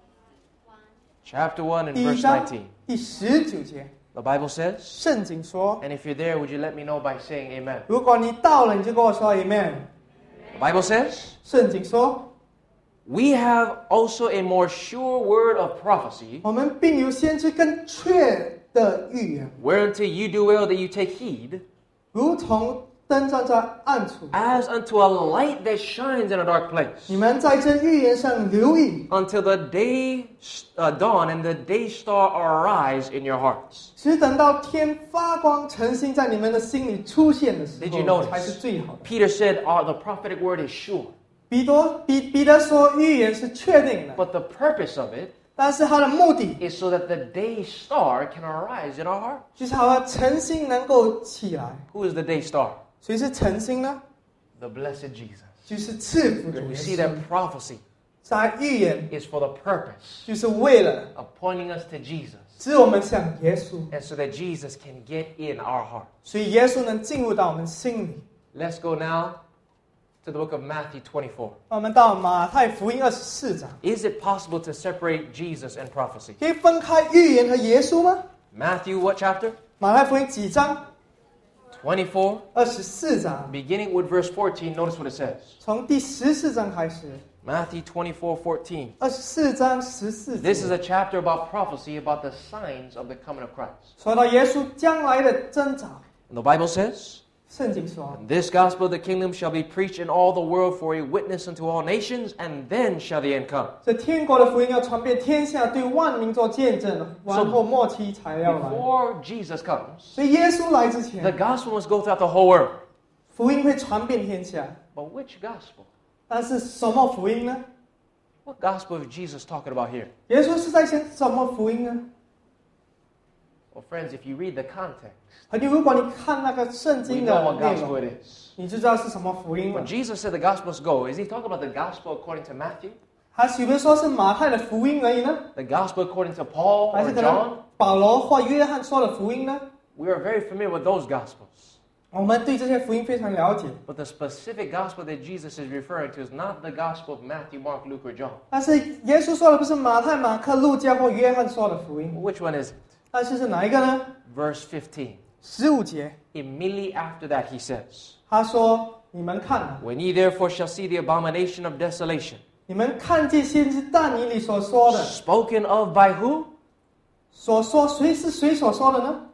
Chapter 1 and 第 verse 1章 19. 第19节。 The Bible says, 圣经说， and if you're there, would you let me know by saying amen? 如果你到了，你就跟我说 Amen。 The Bible says, 圣经说， we have also a more sure word of prophecy, 我们并有先知更确的预言， whereunto you do well that you take heed, 如同灯照在暗处， as unto a light that shines in a dark place, 你们在这预言上留意， until the day dawn and the day star arise in your hearts. 直等到天发光，晨星在你们的心里出现的时 Did you 候， notice? 才是最好的。 Peter said, the prophetic word is sure, 彼得说，预言是确定的， but the purpose of it 但是它的目的 is so that the day star can arise in our heart. 就是好像晨星能够起来。 Who is the day star? 谁是晨星呢？ The blessed Jesus. 就是赐福的 We 耶 see 稣。 that prophecy 在预言 is for the purpose 就是为了 of pointing us to Jesus, 使我们向耶稣， and so that Jesus can get in our heart. 所以耶稣能进入到我们心里。 Let's go now to the book of Matthew 24. 我们到马太福音24章， Is it possible to separate Jesus and prophecy? 可以分开预言和耶稣吗？ Matthew, what chapter? 马太福音几章 24, ？24章， beginning with verse 14. Notice what it says. 从第14章开始。 Matthew 24:14. 24章14 This is 节 a chapter about prophecy, about the signs of the coming of Christ. 说到耶稣将来的征兆。 And the Bible says, 圣经说， And this gospel of the kingdom shall be preached in all the world for a witness unto all nations, and then shall the end come. 这天国的福音要传遍天下，对万民做见证，完后末期才要来。 Before Jesus comes, 所以耶稣来之 the 前， gospel must go throughout the whole world. 福音会传遍天下。 But which gospel? 但是什么福音呢？ What gospel is Jesus talking about here? 耶稣是在讲什么福音呢？ Well, friends, if you read the context, 如果你看那个圣 we 经 know 的 what 内 gospel 容， it is. 你就知道是什么福音 When 了。 Jesus said the gospel must go, is he talking about the gospel according to Matthew? 还是有人说是马太的福音而已呢？ The gospel according to Paul 还 or 是可 John? 能保罗或约翰说的福音呢？ We are very familiar with those gospels. 我们对这些福音非常了解， But the specific gospel that Jesus is referring to is not the gospel of Matthew, Mark, Luke, or John. 但是耶稣说的不是马太、马克、路加或约翰说的福音， Which one is it? 但是哪一个呢 Verse 15. ？15节， Immediately after that, he says, 他说：“你们看啊， When ye therefore shall see the abomination of desolation, 你们看见先知但以理所说的， spoken of by who? 所说谁是谁所说的呢？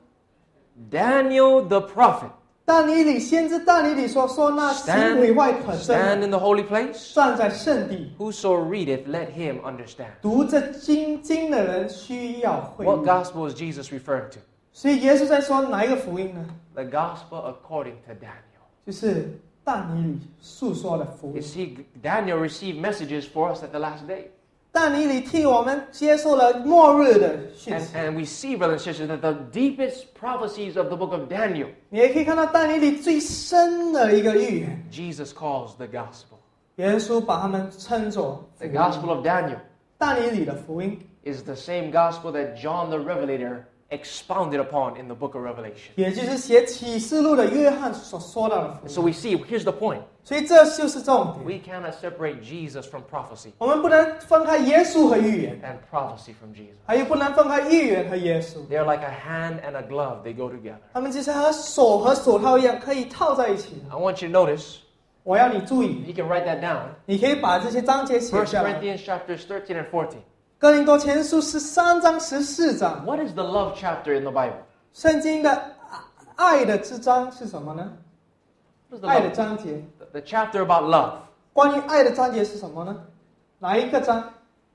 Daniel the prophet. 但以理先知但以理所说那行毁坏可憎 Stand 的， in the holy place. 站在圣地 Whoso readeth, let him understand. 读这经的人需要会 What 意。 gospel is Jesus referring to? 所以耶稣在说哪一个福音呢？ The gospel according to Daniel. 就是但以理述说的福 You 音。 see, Daniel received messages for us at the last day. 但以理替我们接受了末日的讯 And, 息。 and we see, brothers and sisters, that the deepest prophecies of the book of Daniel, 你也可以看到但以理最深的一个预言， Jesus calls the gospel. 耶稣把他们称作福 The 音。 gospel of Daniel 但以理的福音， is the same gospel that John the Revelator expounded upon in the book of Revelation. 也就是写启示录的约翰所说到的福 So 音。 we see, here's the point. 所以这就是重点。 We cannot separate Jesus from prophecy 我们不能分开耶稣和预言， and prophecy from Jesus. 还有不能分开预言和耶稣。 They're like a hand and a glove. They go together. 他们就是和手和手套一样，可以套在一起。 I want you to notice, 我要你注意， you can write that down. 你可以把这些章节写 1 下来。 Corinthians chapters 13 and 14. 哥林多前书13章14章， What is the love chapter in the Bible? 圣经的爱的之章是什么呢？ What is the 爱的 love? 章节， The chapter about love. 关于爱的章节是什么呢？哪一个章？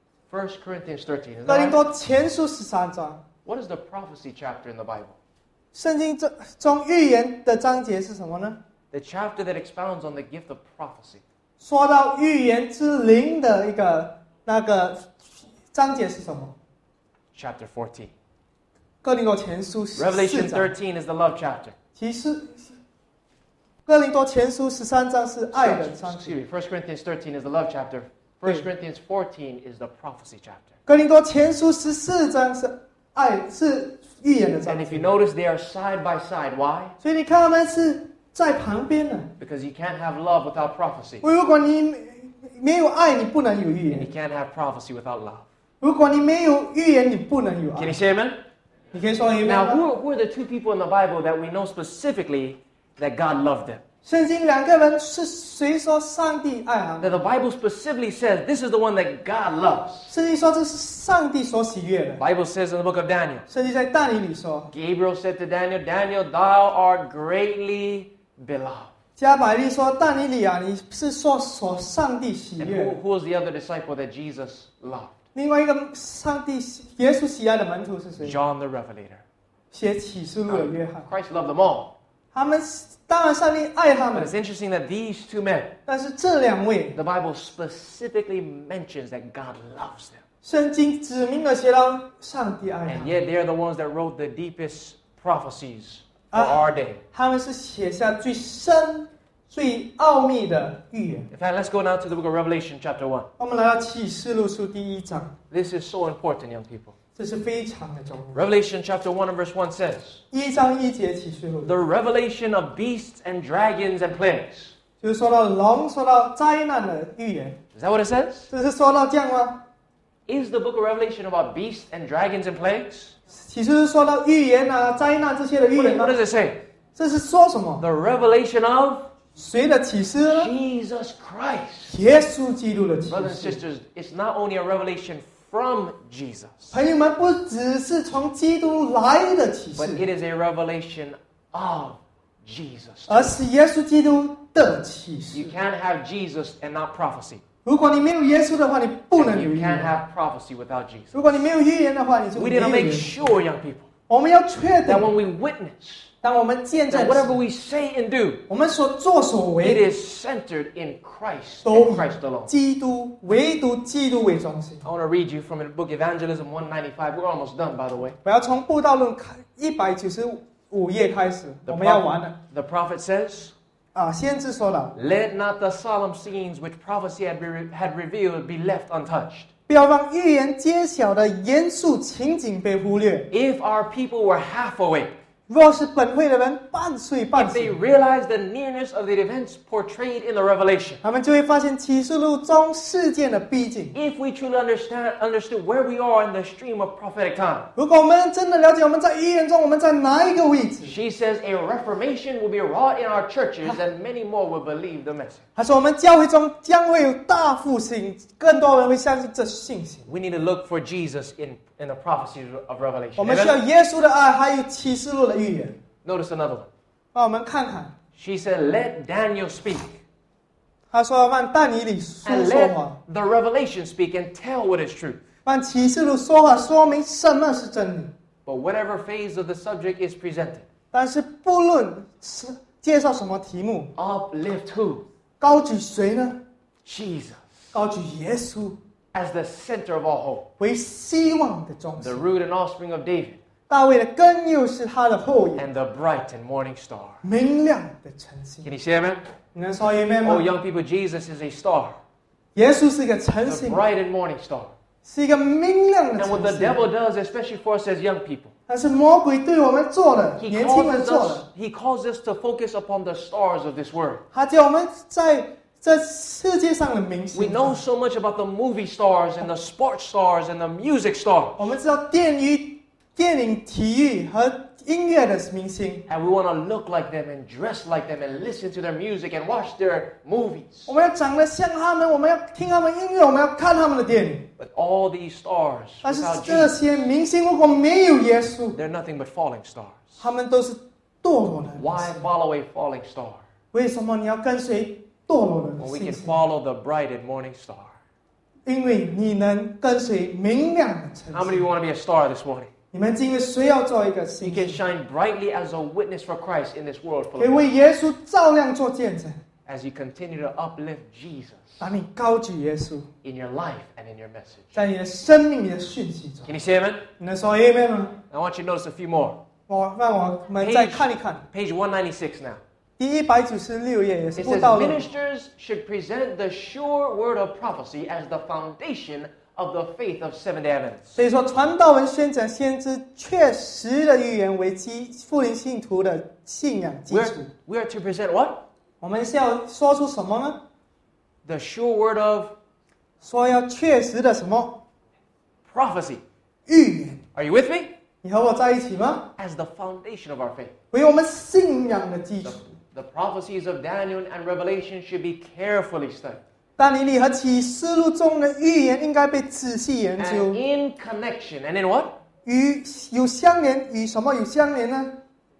1 Corinthians 13. Is 哥林 that right? 多前书13章。 What is the prophecy chapter in the Bible? 圣经中预言的章节是什么呢？ The chapter that expounds on the gift of prophecy. 说到预言之灵的一个那个章节是什么？ Chapter 14. 哥林多前书14 Revelation 章。 13 is the love chapter. 其实，哥林多前书13章是爱的章 Excuse 节。 me. 1 Corinthians 13 is the love chapter. 1 Corinthians 14 is the prophecy chapter. 哥林多前书14章是爱是预言的 And 章 if 节 you。notice, they are side by side. Why? 所以你看他们是在旁边的。 Because you can't have love without prophecy. 如果你没有爱，你不能有预 And 言 you；can't have prophecy without love. 如果你没有预言，你不能有 Can 爱 you。say amen? 你可以说 amen Now, 吗？ who are the two people in the Bible that we know specifically that God loved them? 圣经两个人是谁说上帝爱他们？ That the Bible specifically says this is the one that God loves. 圣经说这是上帝所喜悦的 The。Bible says in the book of Daniel, 圣经在但以理说， Gabriel said to Daniel, Daniel, thou art greatly beloved. 加百利说：“但以理啊，你是所上帝喜 And 悦的。 who was the other disciple that Jesus loved? 另外一个耶稣喜爱的门徒是谁？ John the Revelator. 写启示录的约翰。 Christ loved them all. 他们当然上帝爱他 But 们， it's interesting that these two men, 但是这两位， the Bible specifically mentions that God loves them. 圣经指明了写到上帝爱他 And 们， yet they're the ones that wrote the deepest prophecies for our day. 他们是写下最深、最奥秘的预言。 In fact, let's go now to the book of Revelation chapter 1. 我们来到启示录书第1章， This is so important, young people. 这是非常的重要。 Revelation chapter 1 and verse 1 says, 1章1节启示录， the revelation of beasts and dragons and plagues. 就是说到龙，说到灾难的预言， Is that what it says? 这是说到这样吗？ Is the book of Revelation about beasts and dragons and plagues? 启示是说到预言啊、灾难这些的预言 What 吗？ does it say? 这是说什么？ The revelation of 谁的启示呢？ Jesus Christ. 耶稣基督的启 Brothers and 示。 sisters, it's not only a revelation from Jesus, 朋友们，不只是从基督来的启 but 示， it is a revelation of Jesus. 而是耶稣基督的启示 You。can't have Jesus and not prophecy. 如果你没有耶稣的话，你不能 And 有 you 预 can't 言； have prophecy without Jesus. 如果你没有预言的话，你就 We 没 need 有 to make 预言。 sure, young people, 我们要确 that 定， when we witness, 当我们见证 that whatever we say and do, 我们所作所 it 为， is centered in Christ 都 and Christ alone. 基督唯独基督为中心。 I want to read you from the book Evangelism 195. We're almost done, by the way. 我要从布道论195页开始，我们要完了 The prophet says, 啊！先知说了， let not the solemn scenes which prophecy had revealed be left untouched. 不要让预言揭晓的严肃情景被忽略。 If our people were half awake, 若是本会的人半睡半 if they 醒， realized the nearness of the events portrayed in the revelation, 他们就会发现启示录中事件的逼近。 if we truly understood where we are in the stream of prophetic time, 如果我们真的了解我们在预言中我们在哪一个位置， she says a reformation will be wrought in our churches and many more will believe the message. 他说我们教会中将会有大复兴，更多人会相信这信息。 We need to look for Jesus in the prophecies of Revelation. 我们需要 Amen? 耶稣的爱，还有启示录的预言。 Notice another one. 让我们看看， She said, let Daniel speak 他说让但以理说 and 说 let 话， the revelation speak and tell what is true. 让启示录说话，说明什么是真理。 But whatever phase of the subject is presented, 但是不论是介绍什么题目， uplift who? 高举谁呢？ Jesus 高举耶稣 as the center of all hope, 为希望的中 the 心。 root and offspring of David, 大卫的根又是他的后裔， and the bright and morning star. 明亮的晨星。 Can you say amen? 你能说 amen 吗 Oh,？young people, Jesus is a star, 耶稣是一个晨 the 星， bright and morning star. 是一个明亮的 And what 晨 the 星。 devil does, especially for us as young people, 但是魔鬼对我们做的， he 年轻人 causes 做 us, 的， he causes us to focus upon the stars of this world. 他叫我们在这世界上的明 We 星 know so much about the movie stars and the sports stars and the music stars. 我们知道电影、体育和音乐的明星， And we want to look like them and dress like them and listen to their music and watch their movies. 我们要长得像他们，我们要听他们音乐，我们要看他们的电影。 But all these stars 但是 without 这 Jesus, 些明星如果没有耶稣， they're nothing but falling stars. 他们都是堕落的明 Why 星。 follow a falling star 为什么你要跟随堕落的 when we 信 can 息？ follow the bright and morning star? 因为你能跟随明亮的晨 How many of 星。 you want to be a star this morning? 你们今天谁要做一个 You 星 can 星， shine brightly as a witness for Christ in this world full 可以 of 为耶稣照亮做见证。 as you continue to uplift Jesus 当你高举耶稣， in your life and in your message. 在你的生命、你的讯息中， Can you say amen? 你能说 amen 吗？ I want you to notice a few more. 让我们再看一看 Page 196 now. 第196页，也是 It 布 says 道论。 ministers should present the sure word of prophecy as the foundation of the faith of Seventh-day Adventists. 所以说，传道人宣讲先知确实的预言为复临信徒的信仰基础。 We are to present what? 我们是要说出什么呢？ The sure word of 说要确实的什么 prophecy. 预言？ Are you with me? 你和我在一起吗？ As the foundation of our faith. 为我们信仰的基础。 The prophecies of Daniel and Revelation should be carefully studied. 但以理和启示录中的预言应该被仔细研 And 究， in connection, and in what? 与有相连，与什么有相连呢？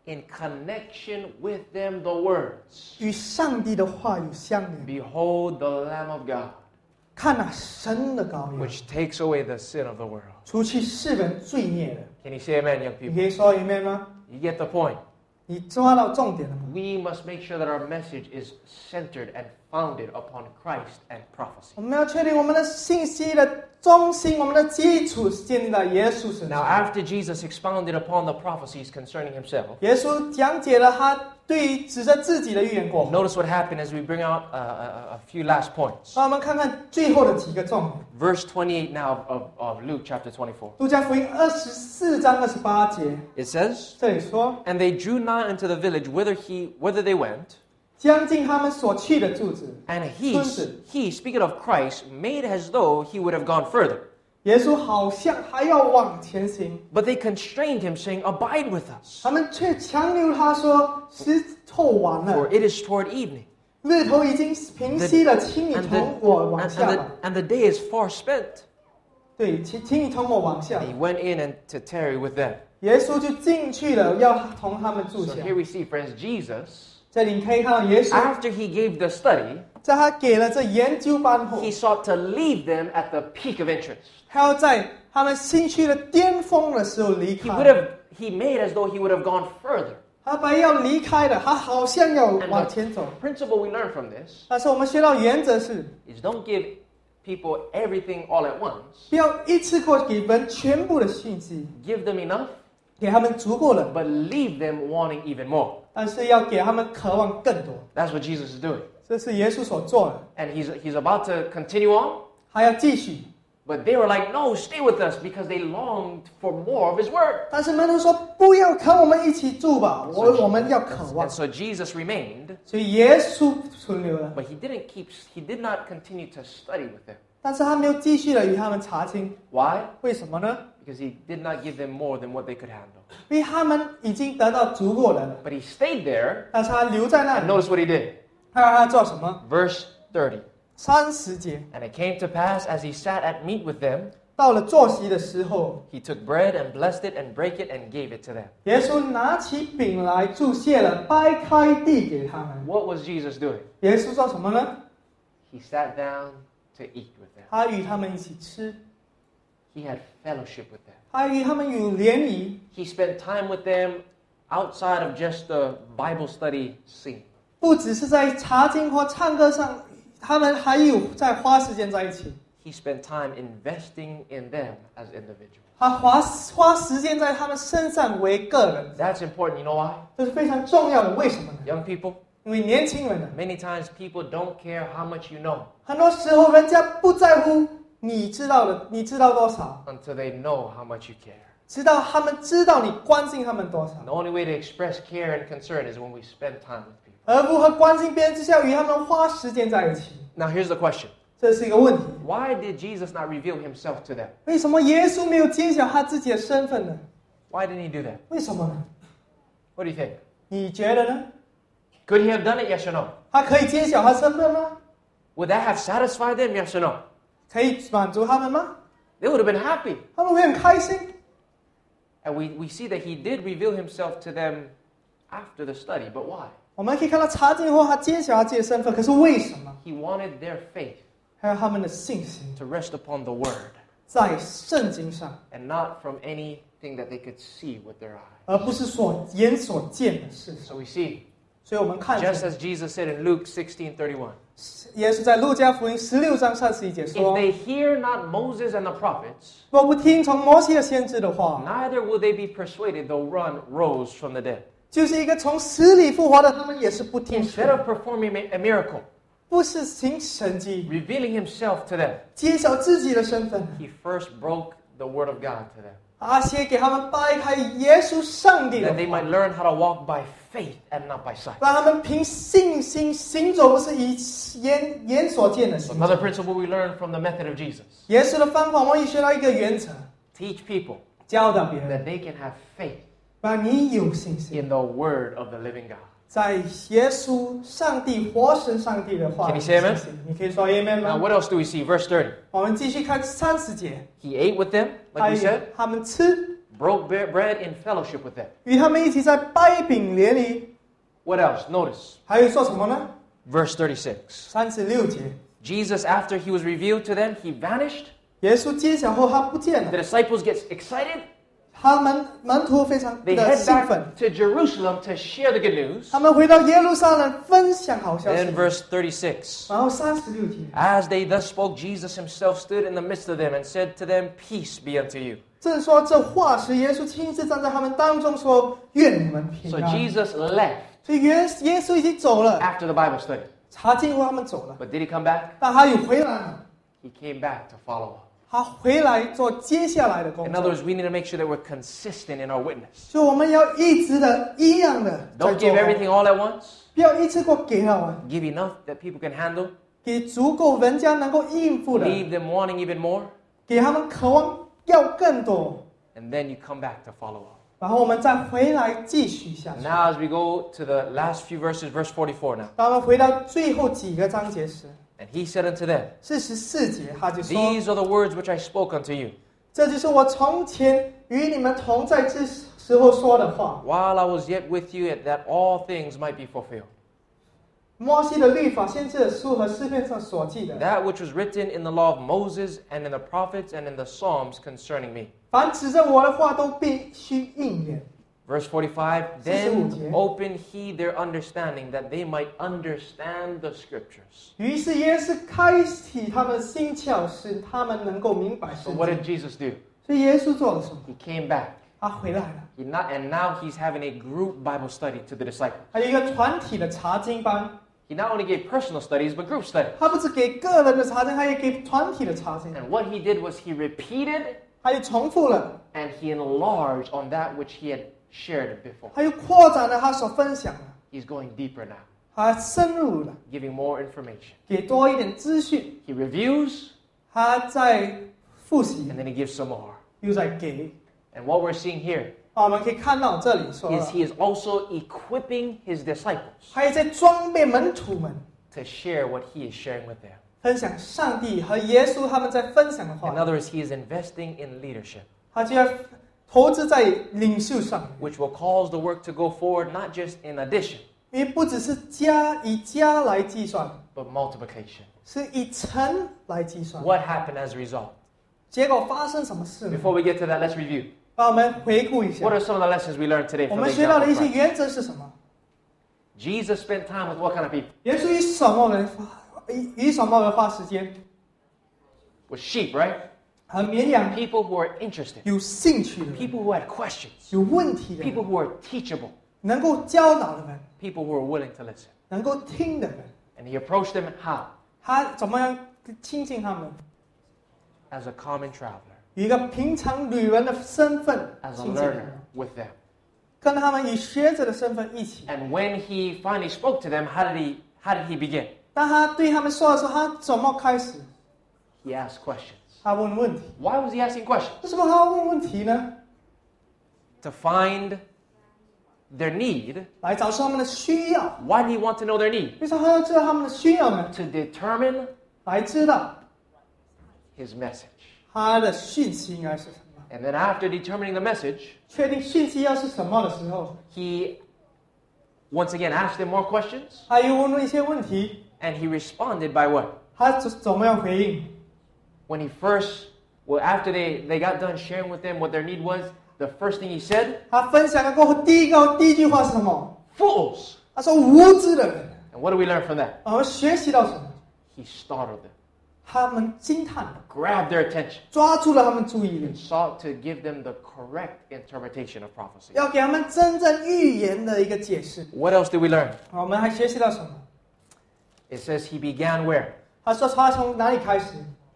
in connection with them the words, 与上帝的话语相连。 Behold the Lamb of God, 看那神的羔羊， which takes away the sin of the world. 除去世人罪孽的。 Can you say amen, young 你 people? 可以说 amen 吗？ You get the point. 你抓到重点了吗？ We must make sure that our message is centered and founded upon Christ and prophecy. 我们要确定我们的信息的中心，我们的基础是建立在耶稣身 Now, 上。 after Jesus expounded upon the prophecies concerning himself, 耶稣讲解了他对于指着自己的预言过后， notice what happened as we bring out a few last points. 让我们看看最后的几个重点。 Verse 28 now of Luke chapter 24. 路加福音24章28节， It says, 这里说， And they drew nigh unto the village whither they went, 将近他们所去的住址， and 村子。 he, speaking of Christ, made as though he would have gone further. 耶稣好像还要往前行， But they constrained him, saying, Abide with us, 他们却强留他说：“时候晚 for 了， it is toward evening, 日头已经平息了，请你 and 同我往下吧。 the day is far spent. 对，请你同我往下 And。he went in and to tarry with them. 耶稣就进去了，要同他们住 So 下。 here we see, friends, Jesus, 这里你可以看到耶稣， after he gave the study, 在他给了这研究班后， he sought to leave them at the peak of interest. 他要在他们兴趣的巅峰的时候离 He 开。 would have, he made as though he would have gone further. 他本来要离开的，他好像要 And 往前走。 the principle we learn from this 但是我们学到原则是， is don't give people everything all at once. 不要一次过给人全部的信息， Give them enough, 给他们足够了， but leave them wanting even more. 但是要给他们渴望更多。 That's what Jesus is doing. 这是耶稣所做的， And he's about to continue on, 还要继续。 but they were like, no, stay with us, because they longed for more of his word. 但是门徒说：“不要跟我们一起住吧，我们要渴望。 And so Jesus remained, ” 所以耶稣存留了， but he did not continue to study with them. 但是他没有继续的与他们查清， Why? 为什么呢？ Because he did not give them more than what they could handle. 因为他们已经得到足够的了， But he stayed there, 但是他留在那 and 里。 notice what he did. 他让他做什么？ Verse 30. 30节， And it came to pass, as he sat at meat with them, 到了坐席的时候， he took bread and blessed it and brake it and gave it to them. 耶稣拿起饼来注谢了，掰开递给他们。 What was Jesus doing? 耶稣做什么呢？ He sat down to eat with them. 他与他们一起吃， He had fellowship with them. 他与他们有联谊， He spent time with them outside of just the Bible study scene. 不只是在查经或唱歌上，他们还有在花时间在一起。 He spent time investing in them as individuals. 他花时间在他们身上为个人， That's important. You know why? 这是非常重要的。为什么呢？ Young people, 因为年轻人呢， many times people don't care how much you know 很多时候人家不在乎你知道的，你知道多少， until they know how much you care. 直到他们知道你关心他们多少。 The only way to express care and concern is when we spend time with people. 而如何关心别人，就是要与他们花时间在一起。 Now, here's the question. 这是一个问题。 Why did Jesus not reveal himself to them? 为什么耶稣没有揭晓他自己的身份呢？ Why didn't he do that? 为什么呢？ What do you think? 你觉得呢？ Could he have done it? Yes or no? 他可以揭晓他身份吗？ Would that have satisfied them? Yes or no? 可以满足他们吗？ They would have been happy. 他们会很开心。 And we see that he did reveal himself to them after the study. But why? 我们可以看到查经后，他揭晓他自己的身份，可是为什么？ He wanted their faith 还有他们的信心 to rest upon the word 在圣经上， and not from anything that they could see with their eyes. 而不是眼所见的事。 So we see, 所以我们看 just 见 as Jesus said in Luke 16:31, 耶稣在路加福音16章31节 if 说 they hear not Moses and the prophets,：“ 若不听从摩西的先知的话， neither will they be persuaded though one rose from the dead. 就是一个从死里复活的，他们也是不听从 Instead of performing a miracle, 不是行神迹， revealing himself to them, 揭晓自己的身份， he first broke the word of God to them, 先给他们掰开耶稣上帝的 that they 话， might learn how to walk by faith and not by sight. 让他们凭信心行走，不是以眼所见的行走。 Another principle we learn from the method of Jesus: 耶稣的方法，我们也学到一个原则： teach people 教导别人， that they can have faith 让你有信心， in the word of the living God. 在耶稣上帝活神上帝的话 Can 里 you say amen? 信心。你可以说 amen Now, 吗？ what else do we see? Verse 30. 我们继续看30节， He ate with them, like we said, 他们吃， broke bread in fellowship with them. 与他们一起在掰饼联谊。 What else? Notice 还有做什么呢？ verse 36. 36节， Jesus, after he was revealed to them, he vanished. 耶稣揭晓后他不见 The 了， disciples get excited. 他们门徒非常 They 的 head 兴奋， back to Jerusalem to share the good news. 他们回到耶路撒冷分享好消 Then 息。 verse 36. 然后36节， As they thus spoke, Jesus himself stood in the midst of them and said to them, Peace be unto you. 正说这话时，耶稣亲自站在他们当中说：“愿你们平 So 安。” Jesus left 所以耶稣已经走了， after the Bible study. 查经后他们走了， But did he come back? 但他又回来了， He came back to follow up. 他回来做接下来的工 In 作 other。words, we need to make sure that we're consistent in our witness. 所以我们要一直的一样的在 Don't 做 give，everything all at once. 不要一次过给到完， Give enough that people can handle. 给足够人家能够应付的， Leave them wanting even more. 给他们渴望要更多， And then you come back to follow up. 然后我们再回来继续下去。 Now, as we go to the last few verses, verse 44 now. 当我们回到最后几个章节时， And he said unto them, 44节他就说 These are the words which I spoke unto you, 这就是我从前与你们同在之时候说的话。 while I was yet with you, that all things might be fulfilled. 摩西的律法、先知的书和诗篇上所记的， That which was written in the law of Moses and in the prophets and in the Psalms concerning me. 凡指着我的话都必须应验。 Verse 45, 45 Then 节。 opened he their understanding, that they might understand the scriptures. 于是耶稣开启他们的心窍，使他们能够明白 So 圣 what 经。 did Jesus do? 所以耶稣做了什么？ He came back. 他回来了， And now he's having a group Bible study to the disciples. 还有一个团体的查经班。 He not only gave personal studies, but group studies. 他不只给个人的查经，他也给团体的查经， And what he did was he repeated 他又重复了， and he enlarged on that which he had shared before. 他又扩展了他所分享的， He's going deeper now, 他深入了， giving more information. 给多一点资讯， He reviews 他在复习 and，then he gives some more. 又在给。 And what we're seeing here 我们可以看到这里说 is 了， he is also equipping his disciples 他也在装备门徒们， to share what he is sharing with them. 分享上帝和耶稣他们在分享的 In 话， other words, he is investing in leadership, 他就要投资在领袖上面， which will cause the work to go forward not just in addition, 因为不只是以加来计算， but multiplication. 是以乘来计算。 What happened as a result? 结果发生什么事呢？ Before we get to that, let's review. 让我们回顾一下 What，are some of the lessons we learned today 我 from 们 the 学到 example 的一 of 些 Christ? 原则是什么？ Jesus spent time with what kind of people? 耶稣与什么人花时间？ With sheep, right? 和绵羊 People who are interested. 有兴趣的人， People who had questions. 有问题的 People 人， who are teachable. 能够教导的人， People who are willing to listen. 能够听的人， And he approached them how? 他怎么样亲近他们？ As a common traveler, 以一个平常旅人的身份 as a 亲近他 learner 们， with them. 跟他们以学者的身份一起。 And when he finally spoke to them, how did he begin? 当他对他们说的时候，他怎么开始？ He asked questions. 他问问题。 Why was he asking questions? 为什么他要问问题呢？ To find their need. 来找出他们的需要。 Why did he want to know their need? 为什么他要知道他们的需要呢？ To determine 来知道 his message. 他的讯息应该是什么。 And then after determining the message, 确定讯息要是什么的时候， he once again asked them more questions. 他又问了一些问题， And he responded by what? 他怎么样回应？ When he after they got done sharing with them what their need was, the first thing he said, 他分享了过后，第一句话是什么？ fools. 他说无知的人。 And what do we learn from that? 我们学习到什么？ He startled them, 他们惊叹了， grabbed their attention, 抓住了他们注意力 and，sought to give them the correct interpretation of prophecy. 要给他们真正预言的一个解释。 What else did we learn? 我们还学习到什么？ It says he began where? 他说他从哪里开始？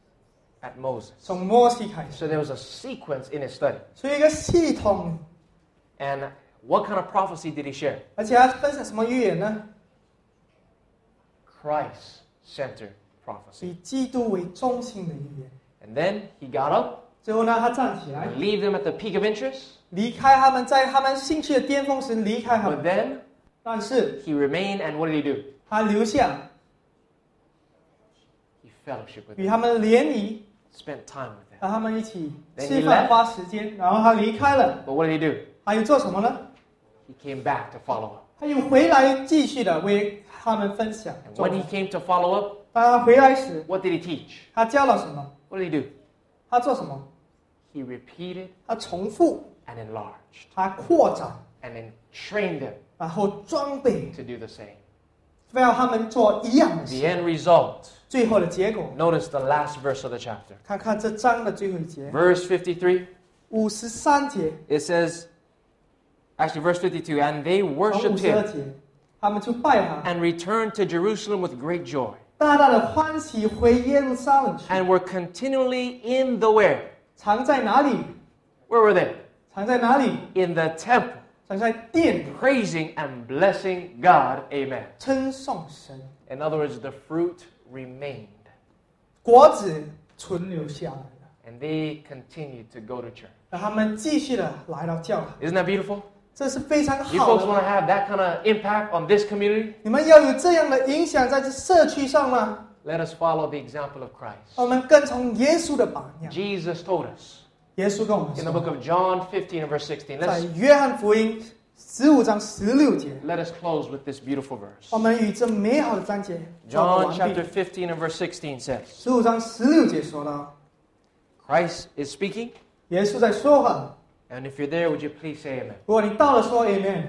At Moses. 从摩西开始， So there was a sequence in his study. 所以一个系统， And what kind of prophecy did he share? 而且他分享什么预言呢？ Christ-centered prophecy. 以基督为中心的预言。 And then he got up 最后呢，他站起来， and leave them at the peak of interest. 离开他们，在他们兴趣的巅峰时离开他 But 们。 then 但是 he remained, and what did he do? 他留下， He fellowshiped with 与 them, 他们联谊， spent time with them. 让他们一起 Then 吃 he 饭 left. 花时间，然后他离开了。 But what did he do? 他又做什么呢？ He came back to follow up. 他又回来继续的为他们分享。 And when he came to follow up, 当他回来时， what did he teach? 他教了什么？ What did he do? 他做什么？ He repeated 他重复， and enlarged 他扩展， and then trained them 然后装备， to do the same. 非要他们做一样的 The 事。 end result. 最后的结果， Notice the last verse of the chapter. 看看这章的最后一节， Verse 53, 53节 it says, actually verse 52, and they 从 worshipped 52 him 节，他们就拜他， and returned to Jerusalem with great joy 大大的欢喜回耶路撒冷去。 and were continually in the where? 藏在哪里？ Where were they? 藏在哪里？ In the temple, 藏在殿里， praising and blessing God. Amen. 称颂神， In other words, the fruit remained 果子存留下来了， and they continued to go to church. 让他们继续的来到教堂， Isn't that beautiful? 这是非常 You 好 folks want to 的。 have that kind of impact on this community? 你们要有这样的影响在这社区上吗？ Let us follow the example of Christ. 我们跟从耶稣的榜样。 Jesus told us 耶稣跟我们 in the book 说， of John 15 and verse 16. 在 Let's 约翰福音15章16节， let us close with this beautiful verse. 我们与这美好的章节做 John 完 chapter 毕。 15 and verse 16 says, 15章16节说到， Christ is speaking, 耶稣在说话。 and if you're there, would you please say amen? 如果你到了，说 Amen。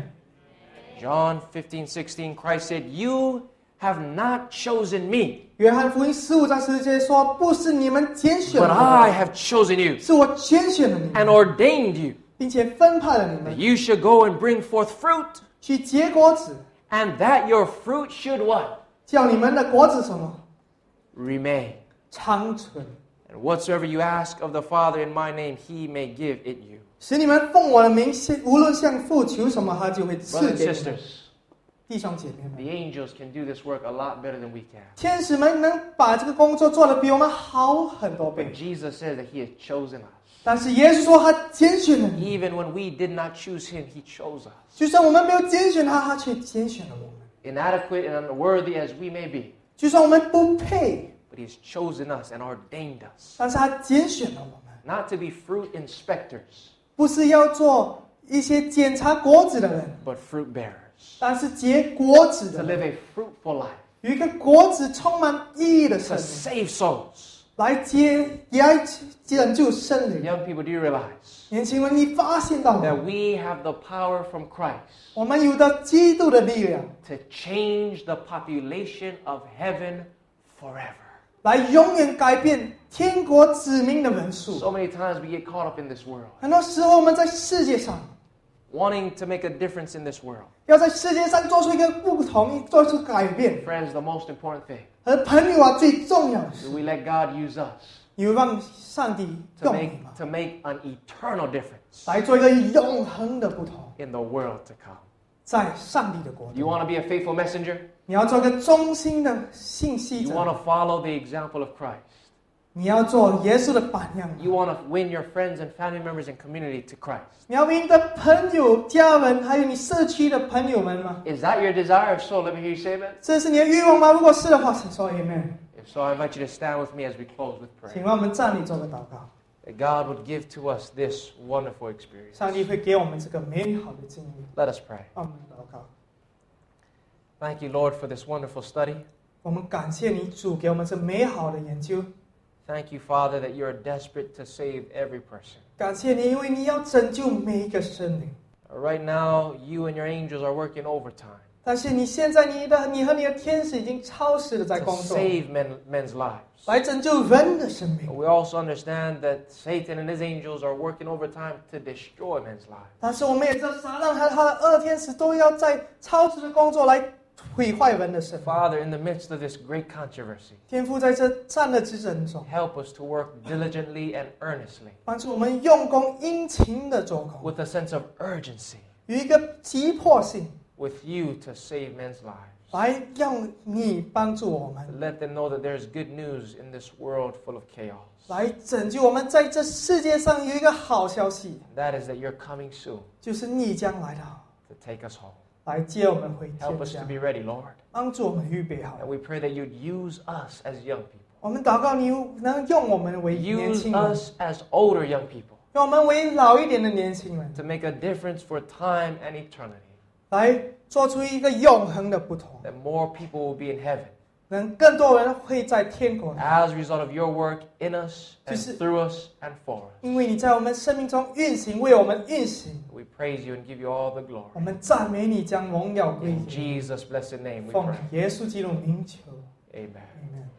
John 15:16, Christ said, You have not chosen me, 约翰福音15章16节说，不是你们拣选 but 了 I 我， have chosen you 是我拣选了你 and 们， ordained you 并且分派了你 that 们 you should go and bring forth fruit, 去结果子， and that your fruit should what? 叫你们的果子什么 Remain. 长存， And whatsoever you ask of the Father in my name, he may give it you. 使你们奉我的名，无论向父求什么，他就会赐 Brothers and 给你们。 sisters, 弟兄姐妹们， the angels can do this work a lot better than we can. 天使们能把这个工作做得比我们好很多 But 倍， Jesus says that he has chosen us. 但是耶稣说他拣选了你， Even when we did not choose him, he chose us. 就算我们没有拣选他，他却拣选了我们； Inadequate and unworthy as we may be, 就算我们不配， but he's chosen us and ordained us 但是他拣选了我们， not to be fruit inspectors, 不是要做一些检查果子的人， but fruit bearers. 但是结果子 To 的 live 人， a fruitful life, 有一个果子充满意义的 to 生命， save souls. 也来拯救生灵。 Young people, do you realize 年轻人，你发现到 that 吗？ we have the power from Christ 我们有的基督的力量， to change the population of heaven forever? 来永远改变天国子民的人数。 So many times we get caught up in this world, 很多时候，我们在世界上 wanting to make a difference in this world. 要在世界上做出一个不同，做出改变。 Friends, the most important thing 而朋友啊，最重要的 is 是， we let God use us 你让上帝 to 用你 make, 嘛， to make an eternal difference 来做一个永恒的不同， in the world to come. 在上帝的国 You 度。 want to be a faithful messenger? 你要做一个忠心的信息 You want 者， to follow the example of Christ? 你要做耶稣的榜样。 You want to win your friends and family members and community to Christ? 你要为你的朋友、家人，还有你社区的朋友们吗？ Is that your desire? If so, let me hear you say amen. 这是你的欲望吗？如果是的话，请说 Amen。 If so, I invite you to stand with me as we close with 请 prayer. 让我们站立做个祷告， That God would give to us this wonderful experience. 上帝会给我们这个美好的经历。 Let us pray. 让我们祷告。 Thank you, Lord, for this wonderful study. 我们感谢你，主给我们这美好的研究。 Thank you, Father, that you are desperate to save every person. 感谢你，因为你要拯救每一个生灵。 Right now, you and your angels are working overtime 但是你现在，你和你的天使已经超时的在 to 工作， save men's lives. 来拯救人的生命。 We also understand that Satan and his angels are working overtime to destroy men's lives. 但是我们也知道，撒旦和他的恶天使都要在超时的工作来毁坏人的生命。 Father, in the midst of this great controversy, 天父在这战的之争中， help us to work diligently and earnestly 帮助我们用功殷勤的做工， with a sense of urgency 有一个急迫性， with you to save men's lives. 来让你帮助我们， To let them know that there's good news in this world full of chaos. 来拯救我们。在这世界上有一个好消息， That is that you're coming soon 就是你将来到， to take us home. 来接我们回 Help 天 us 家 to，be ready, Lord. 帮助我们预备好 And。we pray that you'd use us as young people 我们祷告，你能用我们为年 Use 轻人， us as older young people 用我们为老一点的年轻人， to make a difference for time and eternity. 来做出一个永恒的不同， That more people will be in heaven 能更多人会在天国里， as a result of your work in us and 就是 through us and for us. 因为你在我们生命中运行，为我们运行。 We praise you and give you all the 我 glory. 们赞美你，将荣耀归 In 给你。 Jesus' blessed name we 奉 pray. 耶稣基督名求 Amen. ，Amen。